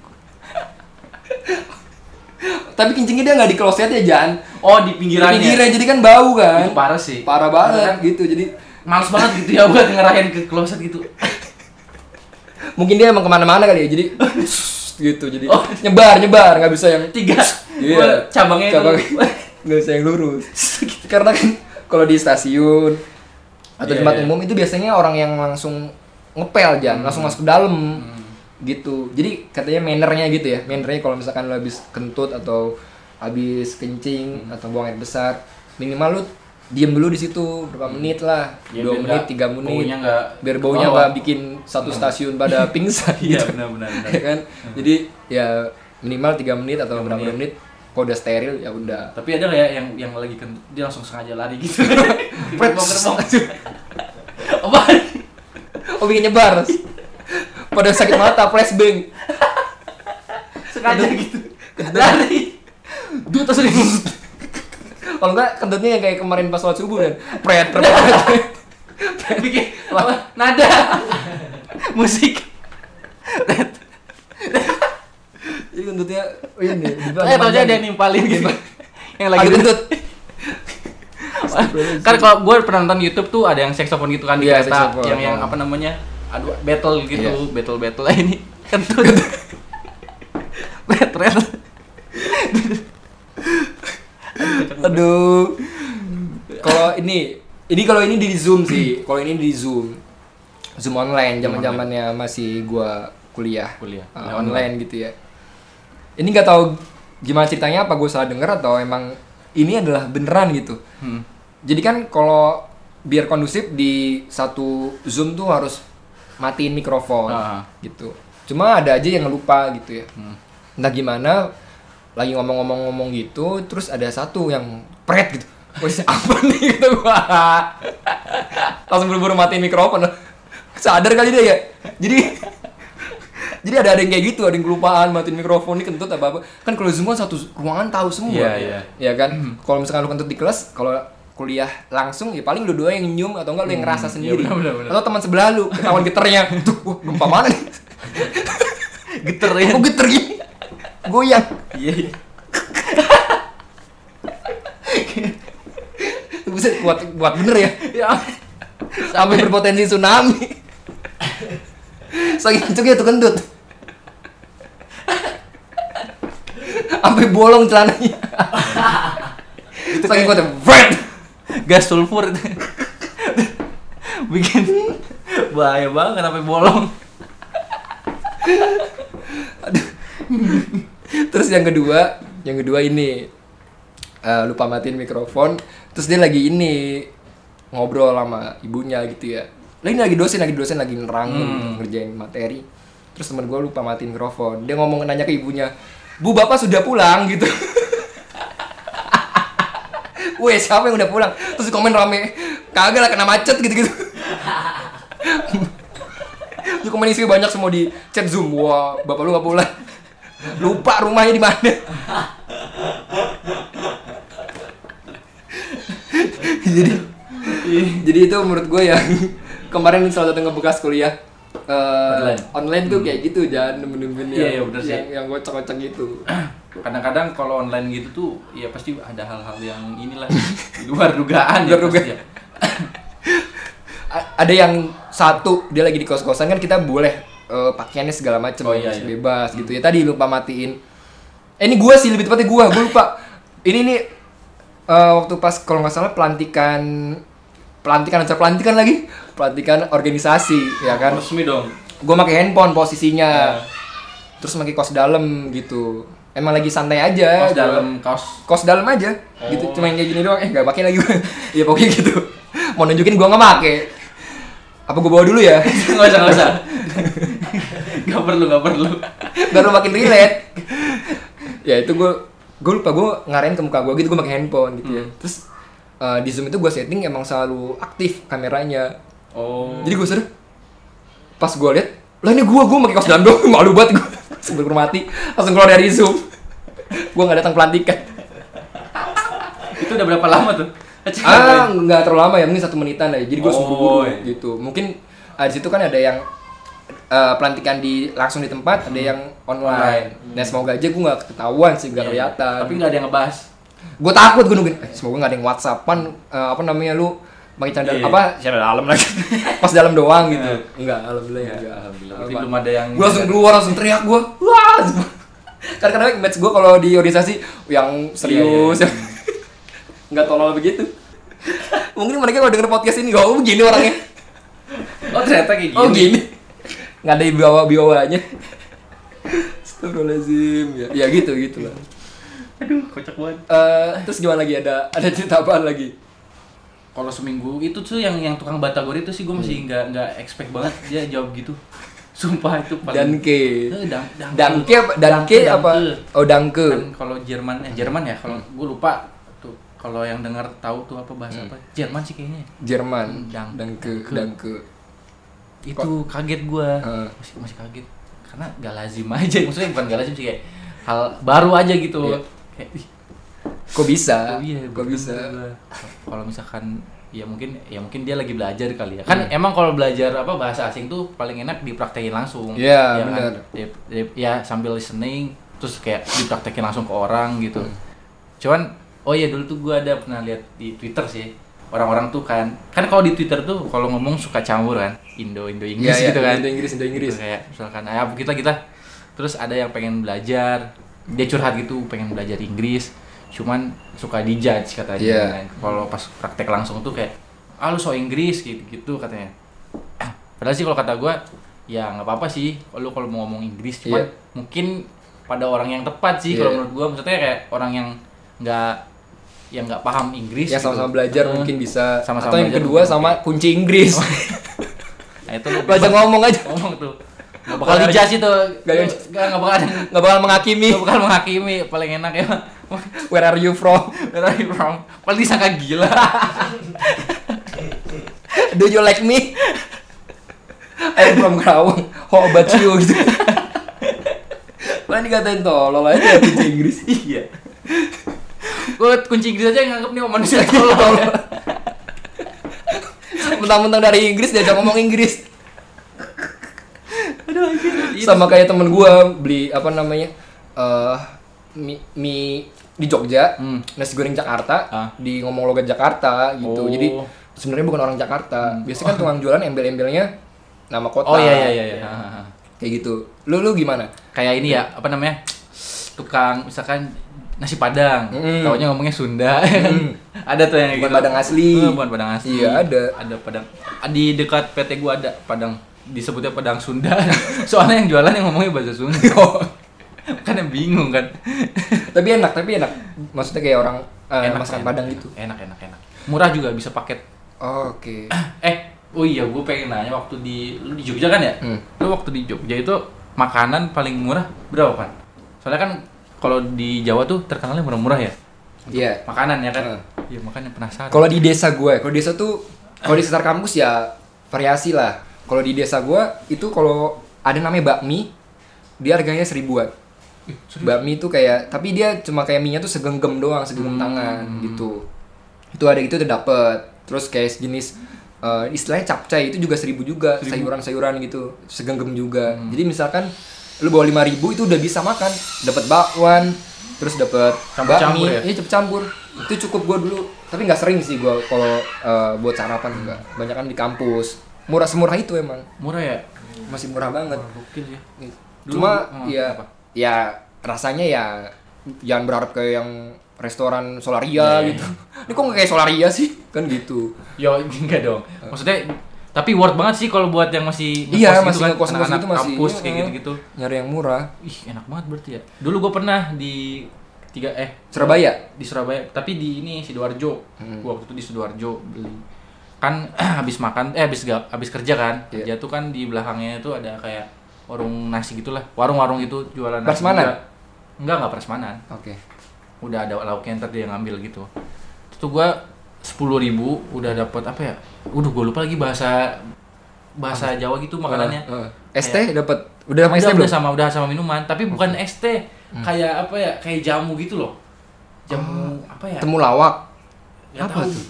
Tapi kencingnya dia nggak di klosetnya, Jan. Oh, di pinggirannya. Di pinggirnya, jadi kan bau kan. Itu parah sih. Parah banget kan? Gitu. Jadi males banget gitu ya buat ngerahin ke kloset gitu. Mungkin dia emang kemana-mana kali ya. Jadi gitu. Jadi nyebar nggak bisa yang 3. Iya. Cabangnya itu nggak bisa yang lurus. Karena kan kalau di stasiun atau di tempat umum itu biasanya orang yang langsung ngepel, Jan, langsung masuk ke dalam. Gitu. Jadi katanya mannernya gitu ya. Mannernya kalau misalkan lo habis kentut atau habis kencing atau buang air besar, minimal lo diem dulu di situ berapa menit lah. 2 menit, 3 menit. Biar baunya enggak bikin satu stasiun pada pingsan gitu. Iya, benar. Ya kan? Jadi ya minimal 3 menit atau berapa menit. Kalau udah steril ya udah. Tapi ada enggak ya yang lagi kentut dia langsung sengaja lari gitu. Gerbong. Apa? Oh, bikin nyebar. Pada sakit mata, flashbang. Sengaja gitu. Lari. Duh, terus Kalau enggak kentutnya yang kayak kemarin pas sholat subuh kan. Pret. Bikin apa? Nada. Musik. Jadi kentutnya ini. Tahu aja dia nimpalin gitu. Yang lagi kentut. Kan kalau gue pernah nonton YouTube tuh ada yang saxophone gitu kan di kereta, yang apa namanya, aduh battle gitu, battle ini kentut. Betret. Aduh. Kalau ini di Zoom sih. Kalau ini di Zoom online, zaman-zamannya masih gua kuliah online gitu ya. Ini nggak tahu gimana ceritanya, apa gue salah denger atau emang ini adalah beneran gitu. Jadi kan kalau biar kondusif di satu Zoom tuh harus matiin mikrofon gitu. Cuma ada aja yang lupa gitu ya. Entah gimana lagi ngomong gitu, terus ada satu yang pret gitu. Wes apa nih gitu gua. Langsung buru-buru matiin mikrofon. Sadar kali dia ya. Jadi ada yang kayak gitu, ada yang kelupaan matiin mikrofon, ini kentut apa. Kan kalau Zoom kan satu ruangan tahu semua. Iya kan? Kalau misalkan lu kentut di kelas, kalau kuliah langsung ya paling lu dua yang nyium atau enggak lu yang ngerasa sendiri. Bener. Atau teman sebelah lu ketahuan geternya. Tuh, wah gempa mana nih? Geter ya. Kok geter gini? Goyang. Iya. Buset, kuat bener ya. Sampai berpotensi tsunami. Saking kencengnya tuh kentut. Sampai bolong celananya. Itu saking kuatnya. Gas sulfur itu. Bikin bahaya banget sampai bolong. Aduh. Terus yang kedua ini lupa matiin mikrofon. Terus dia lagi ini ngobrol sama ibunya gitu ya. Lagi dosen lagi nerangin ngerjain materi. Terus temen gue lupa matiin mikrofon. Dia nanya ke ibunya, "Bu, bapak sudah pulang?" gitu. Weh, siapa yang udah pulang? Terus komen rame, "Kagak lah, kena macet gitu-gitu." Terus komen isi banyak semua di chat Zoom. Wah, bapak lu gak pulang. Lupa rumahnya di mana. Jadi itu menurut gue yang kemarin salah satu ngebekas kuliah online tuh kayak gitu, jangan nemen-nemen yang gocok-gocok gitu. Kadang-kadang kalau online gitu tuh ya pasti ada hal-hal yang inilah di luar dugaan. Ada yang satu dia lagi di kos-kosan kan, kita boleh pakaiannya segala macam bebas gitu ya. Tadi lupa matiin. Ini gue sih lebih tepatnya gue lupa. Ini waktu pas kalau nggak salah pelantikan organisasi ya kan. Resmi dong. Gue pakai handphone posisinya. Terus pakai kaos dalam gitu. Emang lagi santai aja. Kaos dalam aja. Gitu, cuma yang kayak gini doang. Nggak pakai lagi. Ya pokoknya gitu. Mau nunjukin gue nggak pakai. Apa gue bawa dulu ya? Nggak usah. Nggak perlu. Baru makin relate. Ya itu gue lupa, gue ngarahin ke muka gue gitu, gue pakai handphone gitu ya. Terus di Zoom itu gue setting emang selalu aktif kameranya. Jadi gue sadar pas gue lihat, lah ini gue pakai kaos dalam doang, malu banget gue. Sebelum mati langsung keluar dari Zoom. Gue nggak datang pelantikan. Itu udah berapa lama tuh? Nggak terlalu lama ya, mungkin 1 menitan aja. Jadi gue buru-buru gitu. Mungkin di situ kan ada yang pelantikan langsung di tempat, ada yang online. Nah semoga aja gue nggak ketahuan sih, nggak kelihatan. Tapi nggak ada yang ngebahas. Gue takut, gue nungguin. Semoga nggak ada yang WhatsAppan lu pakai canda canda dalam lagi. Pas dalam doang gitu. Enggak, alhamdulillah ya. Alhamdulillah. Belum ada yang. Gue langsung keluar, langsung teriak gue. Wah. Karena match gue kalau di organisasi yang serius, nggak tolol begitu. Mungkin mereka kalau denger podcast ini, begini orangnya. Oh ternyata kayak gini. Oh gini. Nggak ada bawah-bawahnya. Astagfirullahaladzim. Ya gitu lah. Aduh, kocak banget. Terus gimana lagi, ada cerita apaan lagi? Kalau seminggu itu tuh yang tukang batagor itu sih gue masih nggak expect banget dia jawab gitu. Sumpah itu paling. Danke apa? Oh Danke. Kan kalau Jerman ya, kalau gue lupa tuh, kalau yang dengar tahu tuh apa bahasa apa? Jerman sih kayaknya. Jerman. Danke. Itu kaget gue. Masih kaget. Karena gak lazim aja, maksudnya bukan gak lazim sih, kayak hal baru aja gitu. Kayak, Kok bisa? Oh, iya, kok bisa? Kalau misalkan ya mungkin dia lagi belajar kali ya. Kan emang kalau belajar bahasa asing tuh paling enak dipraktekin langsung. Iya, ya benar. Kan? Ya sambil listening terus kayak dipraktekin langsung ke orang gitu. Cuman dulu tuh gue ada pernah lihat di Twitter sih. Orang-orang tuh kan kalau di Twitter tuh kalau ngomong suka campur kan. Indo Inggris gitu kan. Indo Inggris. Gitu, kayak misalkan kita terus ada yang pengen belajar, dia curhat gitu pengen belajar Inggris. Cuman suka dijudge katanya. Kalau pas praktek langsung tuh kayak lu so Inggris gitu katanya. Padahal sih kalau kata gue ya nggak apa-apa sih kalau mau ngomong Inggris, cuman mungkin pada orang yang tepat sih kalau menurut gue. Maksudnya kayak orang yang nggak paham Inggris ya gitu. Sama-sama belajar mungkin bisa. Sama-sama atau yang kedua sama kunci Inggris. Nah itu belajar ngomong tuh. Gak bakal dijudge itu. Gak bakal menghakimi. Paling enak ya. Where are you from? Paling disangka gila. Do you like me? I'm from Karawang. How about you? Gitu. Paling dikatain tolol aja kunci Inggris. Iya. Gue kunci Inggris aja nganggep nih manusia tolol. Mentang-mentang dari Inggris diajak ngomong Inggris. Aduh, sama kayak temen gue beli mie di Jogja, nasi goreng Jakarta, di ngomong logat Jakarta gitu. Jadi sebenarnya bukan orang Jakarta. Biasanya kan tukang jualan embel-embelnya nama kota. Oh iya. Kayak gitu. Lu gimana? Kayak ini ya, tukang misalkan nasi Padang, taunya ngomongnya Sunda. Ada tuh yang bukan gitu. Padang asli. Bukan Padang asli. Iya, ada. Ada Padang. Di dekat PT gua ada Padang, disebutnya Padang Sunda. Soalnya yang jualan yang ngomongnya bahasa Sunda. Kan yang bingung kan. Tapi enak. Maksudnya kayak orang masakan Padang gitu. Enak. Murah juga, bisa paket. Oke. Oh iya, gue pengen nanya waktu lu di Jogja kan ya? Lu waktu di Jogja itu makanan paling murah berapa, Pan? Soalnya kan kalau di Jawa tuh terkenalnya murah-murah ya. Iya. Makanan ya kan? Iya, makanya penasaran. Kalau di desa gue, kalau di sekitar kampus ya variasi lah. Kalau di desa gue itu kalau ada namanya bakmi, dia harganya 1.000-an. Bakmi itu kayak, tapi dia cuma kayak mie-nya tuh segenggam doang, segenggam tangan gitu. Itu ada gitu udah dapet. Terus kayak sejenis istilahnya capcay itu juga 1.000 juga, sayuran-sayuran gitu, segenggam juga. Jadi misalkan lu bawa 5.000 itu udah bisa makan, dapat bakwan, terus dapat bakmi, cepet campur. Itu cukup gua dulu, tapi nggak sering sih gua kalau buat sarapan juga. Banyak kan di kampus. Murah semurah itu emang. Murah ya? Masih murah banget. Gokil ya. Cuma ya rasanya ya jangan berharap kayak yang restoran Solaria gitu. Ini kok nggak kayak Solaria sih? Kan gitu. Yo, enggak dong. Maksudnya tapi worth banget sih kalau buat yang masih ngekos anak-anak gitu masih kampus kayak gitu-gitu. Nyari yang murah. Ih, enak banget berarti ya. Dulu gue pernah di Surabaya. Di Surabaya, tapi di ini Sidoarjo. Gua waktu itu di Sidoarjo beli. Kan habis kerja kan. Kerja tuh kan di belakangnya itu ada kayak warung nasi gitulah. Warung-warung itu jualan nasi. Prasmanan? Enggak prasmanan. Oke. Udah ada lauknya, ntar dia ngambil gitu. Itu gua 10.000 udah dapat apa ya? Udah gua lupa lagi bahasa Jawa gitu makanannya. ST dapat. Udah sama ST belum? Udah sama minuman, tapi bukan ST. Kayak apa ya? Kayak jamu gitu loh. Jamu apa ya? Temulawak. Apa tuh?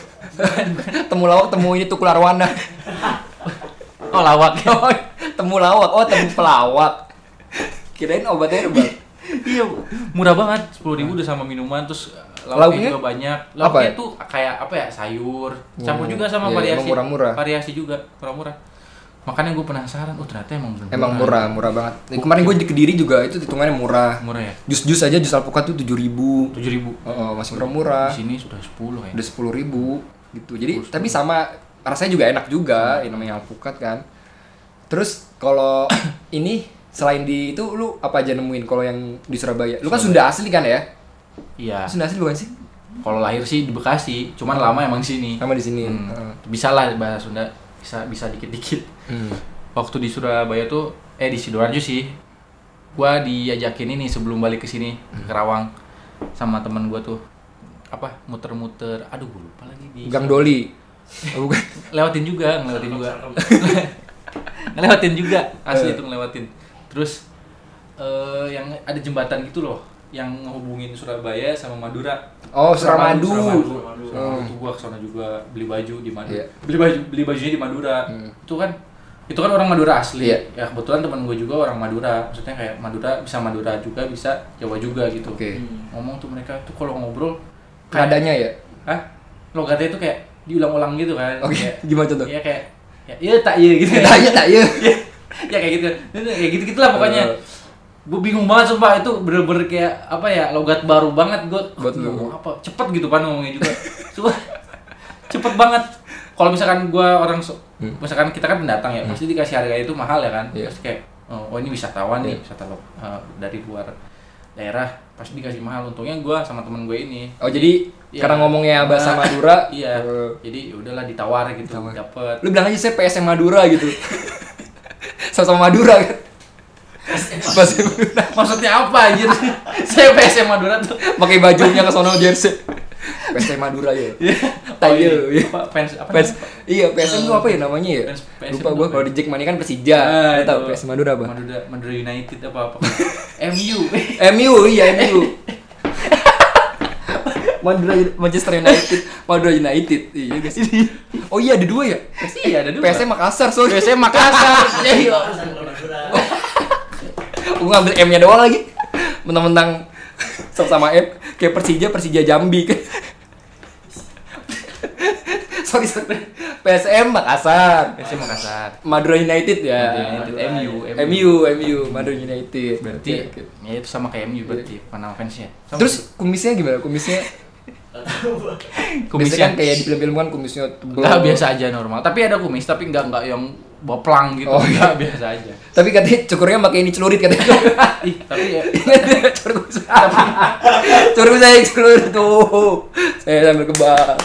Temulawak, temu ini Tukul Arwana. Oh, lawak. Temulawak. Oh, temu pelawak. Kirain obat herbal. Iya, murah banget. 10.000 udah sama minuman, terus lauknya juga banyak. Lauknya tuh kayak apa ya? Sayur, campur juga sama variasi. Murah-murah. Variasi juga, murah-murah. Makanya gue penasaran, ternyata emang murah banget. Kemarin gue di Kediri juga itu hitungannya murah. Murah ya? Jus aja, jus alpukat tuh 7.000. Masih murah-murah. Di sini sudah 10 ya. Udah 10.000 gitu. Jadi tapi sama rasanya juga enak juga, yang namanya alpukat kan. Terus kalau ini selain di itu lu apa aja nemuin kalau yang di Surabaya? Lu kan Sunda asli kan ya? Iya. Sunda asli bukan sih? Kalau lahir sih di Bekasi, cuman lama emang sini. Sama di sini. Bisa lah bahasa Sunda, bisa dikit-dikit. Waktu di Surabaya tuh di Sidoarjo sih. Gua diajakin ini sebelum balik ke sini ke Karawang sama teman gua tuh. Apa? Muter-muter. Aduh, gua lupa lagi di Gang Doli. Oh, bukan. Ngelewatin juga. Asli itu ngelewatin. Terus yang ada jembatan gitu loh, yang ngehubungin Surabaya sama Madura. Oh, Suramadu. Itu gua kesana juga beli baju di Madura. Yeah. Beli bajunya di Madura. Itu kan orang Madura asli. Yeah. Ya kebetulan teman gua juga orang Madura. Maksudnya kayak Madura juga bisa Jawa juga gitu. Ngomong tuh mereka tuh kalau ngobrol nadanya ya? Hah? Logatnya itu kayak diulang-ulang gitu kan. Kayak, gimana contoh? Iya kayak ya tak iya gitu. Tak iya. Ya kayak gitu. Kayak gitu-gitulah pokoknya. Gue bingung banget sumpah, itu bener-bener kayak apa ya, logat baru banget gue ngomong apa cepet gitu kan ngomongnya juga. Sumpah cepet banget. Kalau misalkan gue misalkan kita kan pendatang ya, pasti dikasih harga itu mahal ya kan. Pasti kayak oh ini wisatawan nih, wisatawan dari luar daerah, pasti dikasih mahal. Untungnya gue sama temen gue ini. Oh jadi karena ngomongnya bahasa Madura. Iya. Jadi udahlah ditawar gitu, dapet. Lu bilang aja saya PSM Madura gitu. Sama-sama Madura kan. Maksudnya apa anjir? Saya PSM Madura tuh pakai bajunya ke sono jersey. PSM Madura ya. Tayo. Fans apa? Iya, PSM itu apa ya namanya ya? Lupa gua. Kalau di Jackmania kan Persija. Lu tahu PSM Madura apa? Madura United apa? MU. MU, iya MU. Manchester United, Madura United. Iya guys. Oh iya ada dua ya? Iya ada dua. PSM Makassar, sorry. PSM Makassar. Iya. Gue ngambil M-nya doang lagi. Mentang-mentang sama M kayak Persija Jambi kan. sorry. PSM Makassar. Madura United ya. MU, Madura United. Berarti ya itu sama kayak MU berarti nama fansnya. Terus kumisnya gimana? Kumisnya kan kayak di film-film kan kumisnya tebal. Enggak, biasa aja normal. Tapi ada kumis tapi enggak yang boplang gitu. Enggak, biasa aja. Tapi katanya cukurnya pakai ini celurit katanya. Tapi ya cukur saya celurit tuh. Saya sambil kebal.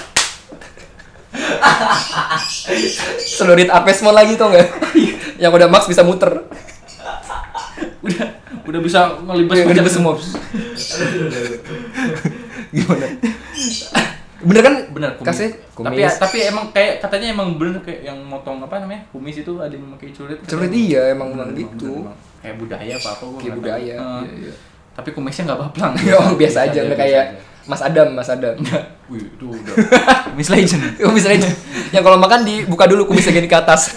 Celurit Apesmon lagi tau enggak? Yang udah max bisa muter. Udah bisa ngelibas semua. Gimana? Bener kan? Bener kumis. Tapi emang kayak katanya emang bener kayak yang motong apa namanya? Kumis itu ada yang memakai celurit. Celurit iya emang gitu. Kayak budaya apa gua. Kayak budaya. Iya. Tapi kumisnya enggak baplang. Oh, biasa aja enggak kayak Mas Adam. Wih, itu udah. Kumis legend. Yang kalau makan dibuka dulu kumisnya gini ke atas.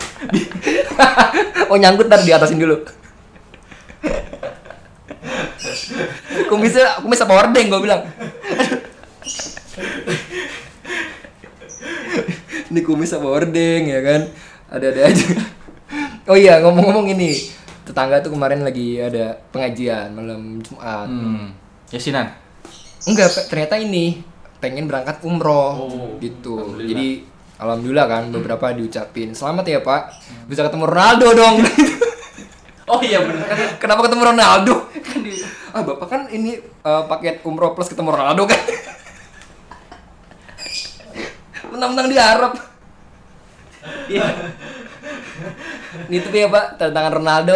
Oh, nyangkut ntar di atasin dulu. Kumis apa hordeng gue bilang. Ini kumis apa hordeng ya kan. Ada aja. Oh iya, ngomong-ngomong ini, tetangga tuh kemarin lagi ada pengajian malam Jumat. Yasinan. Enggak, ternyata ini pengen berangkat umroh gitu. Jadi alhamdulillah kan beberapa diucapin selamat ya Pak, bisa ketemu Ronaldo dong. Oh iya benar kan. Kenapa ketemu Ronaldo? Kan Bapak kan ini paket umroh plus ketemu Ronaldo kan. Mentang-mentang diharap. Iya. Ini tuh ya Pak, tantangan Ronaldo.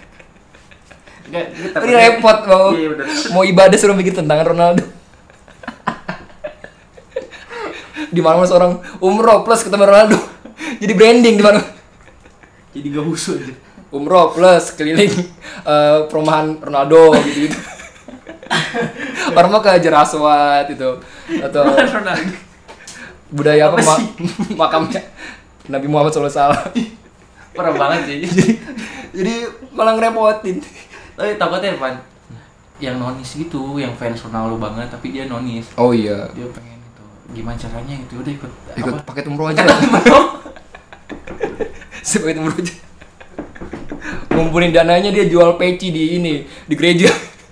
Ini repot mau ibadah suruh mikir tantangan Ronaldo. Di mana seorang umroh plus ketemu Ronaldo. Jadi branding di mana? Jadi gak usul aja. Umroh plus keliling perumahan Ronaldo gitu. Orang mau ke Jeraswat itu atau budaya apa makamnya Nabi Muhammad SAW. Parah banget sih. Jadi malah ngerepotin. Tapi takutnya Pan yang nonis gitu, yang fans Ronaldo banget tapi dia nonis. Oh iya. Dia pengen itu. Gimana caranya gitu? Udah ikut paket umroh aja. Paket umroh aja. Ngumpulin dananya dia jual peci di gereja.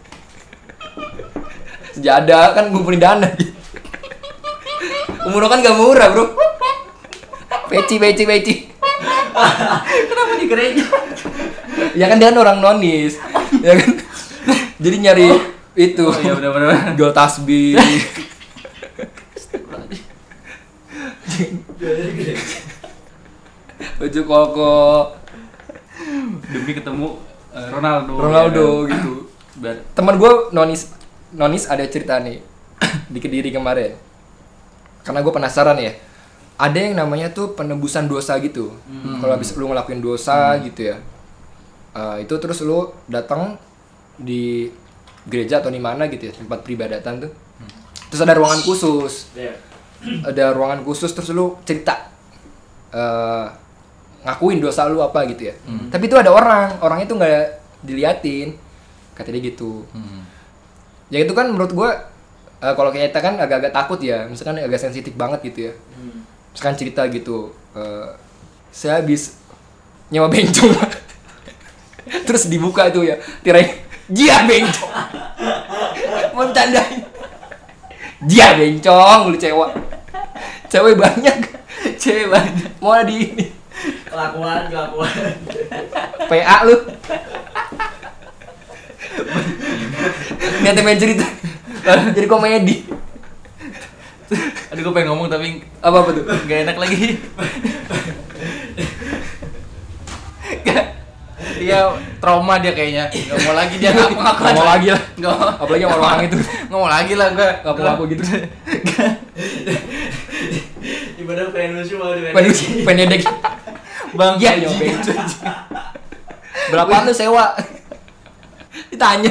Sejadah kan ngumpulin dana. Umroh kan gak murah, Bro. Peci. Kenapa di gereja? Ya kan dia kan orang nonis. Ya kan. Jadi nyari itu. Oh iya benar. Jual tasbih. Baju koko demi ketemu Ronaldo ya kan? Gitu. Teman gue nonis ada cerita nih di Kediri kemarin. Karena gue penasaran ya. Ada yang namanya tuh penebusan dosa gitu. Kalau habis lu ngelakuin dosa gitu ya. Itu terus lu datang di gereja atau di mana gitu ya, tempat peribadatan tuh. Terus ada ruangan khusus. Ada ruangan khusus terus lu cerita ngakuin dosa lu apa gitu ya. Tapi itu ada orang itu nggak diliatin, kata dia gitu. Ya itu kan menurut gue kalau kita kan agak-agak takut ya, misalkan agak sensitif banget gitu ya. Misalkan cerita gitu, saya habis nyewa bencong, terus dibuka itu ya, tirai dia bencong, mau bercandain, dia bencong, lu cewek banyak, mau di ini. Kelakuan. PA lu. Niatnya main cerita. Jadi komedi. Aduh, gue pengen ngomong tapi apa tuh? Gak enak lagi. Dia trauma dia kayaknya. Gak mau lagi dia ngaku. Gak mau lagi lah. Gak mau. Apalagi sama orang itu. Gak mau lagi lah gue. Gak mau aku gitu. Ibadah pengen lucu mau pengen edek. Bang, iya nyobain. Berapaan lu sewa? Ditanya.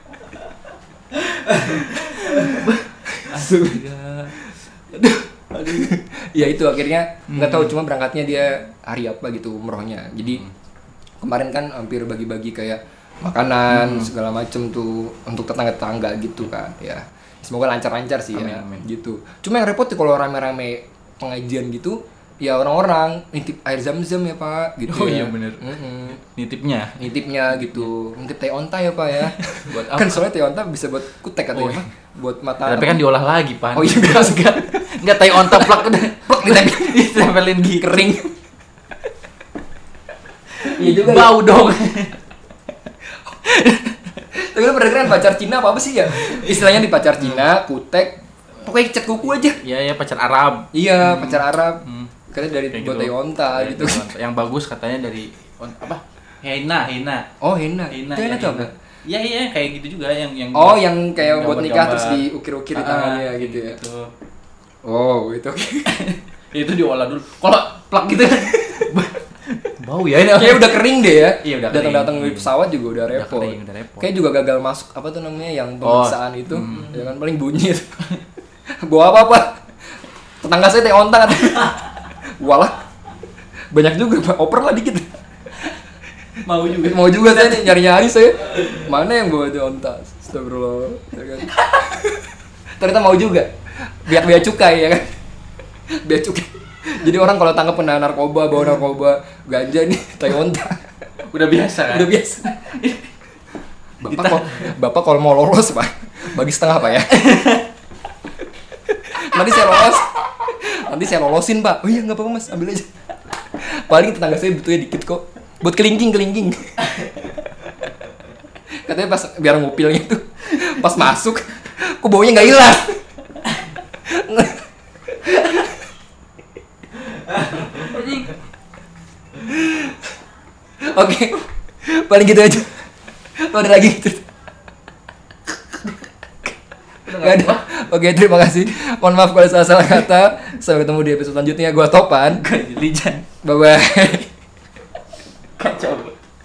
Aduh. Ya itu akhirnya nggak tahu, cuma berangkatnya dia hari apa gitu umrohnya. Jadi kemarin kan hampir bagi-bagi kayak makanan segala macem tuh untuk tetangga-tetangga gitu kan. Ya semoga lancar-lancar sih. Amin, ya amin. Gitu. Cuma yang repot tuh kalau rame-rame pengajian gitu, ya orang-orang nitip air zam-zam ya Pak gitu. Oh ya. iya bener. Nitipnya gitu, nitip teh onta ya Pak ya. Buat apa? Kan soalnya teh onta bisa buat kutek katanya. Oh, iya. Buat mata. Tapi kan diolah lagi Pak. Oh iya enggak teh onta plak udah plak ditempelin di kering. Iya juga. Bau dong. Tapi lu pernah keren pacar Cina apa sih ya? Istilahnya di pacar Cina, kutek, pokoknya cat kuku aja. Iya pacar Arab. Iya pacar Arab. Katanya dari buat gitu. teh onta gitu. Yang bagus katanya dari apa? Henna. Oh henna. Henna itu apa? Iya kayak gitu juga yang oh yang kayak buat nikah terus diukir-ukir di tangannya gitu ya. Gitu. Oh itu oke. Itu diolah dulu. Kalau plak gitu kan bau ya ini. Kayak udah kering deh ya. Iya udah datang di pesawat juga udah repot. Kayak juga gagal masuk apa tuh namanya yang pemeriksaan itu. Ya kan paling bunyi. Bawa apa? Tetangga saya teh onta kan. Walah. Banyak juga Pak, oper lah dikit. Mau juga saya nih nyari-nyari saya. Mana yang bawa teh onta? Astagfirullah. Ya kan. Ternyata mau juga. Biar bea cukai ya kan. Bea cukai. Jadi orang kalau tangkap kena narkoba, bawa narkoba, ganja nih, teh onta. Udah biasa kan? Udah biasa. Bapak kalau mau lolos Pak, bagi setengah Pak ya. Nanti saya lolosin Pak. Oh iya nggak apa-apa Mas, ambil aja. Paling tetangga saya butuhnya dikit kok. Buat kelingking. Katanya pas biar ngupilnya tuh, pas masuk, kok baunya nggak hilang. Oke, paling gitu aja. Lo ada lagi gitu? Gak ada. Oke, terima kasih. Mohon maaf kalau salah kata. Sampai ketemu di episode selanjutnya. Gua Topan. Lijan. Bye bye. Kacau.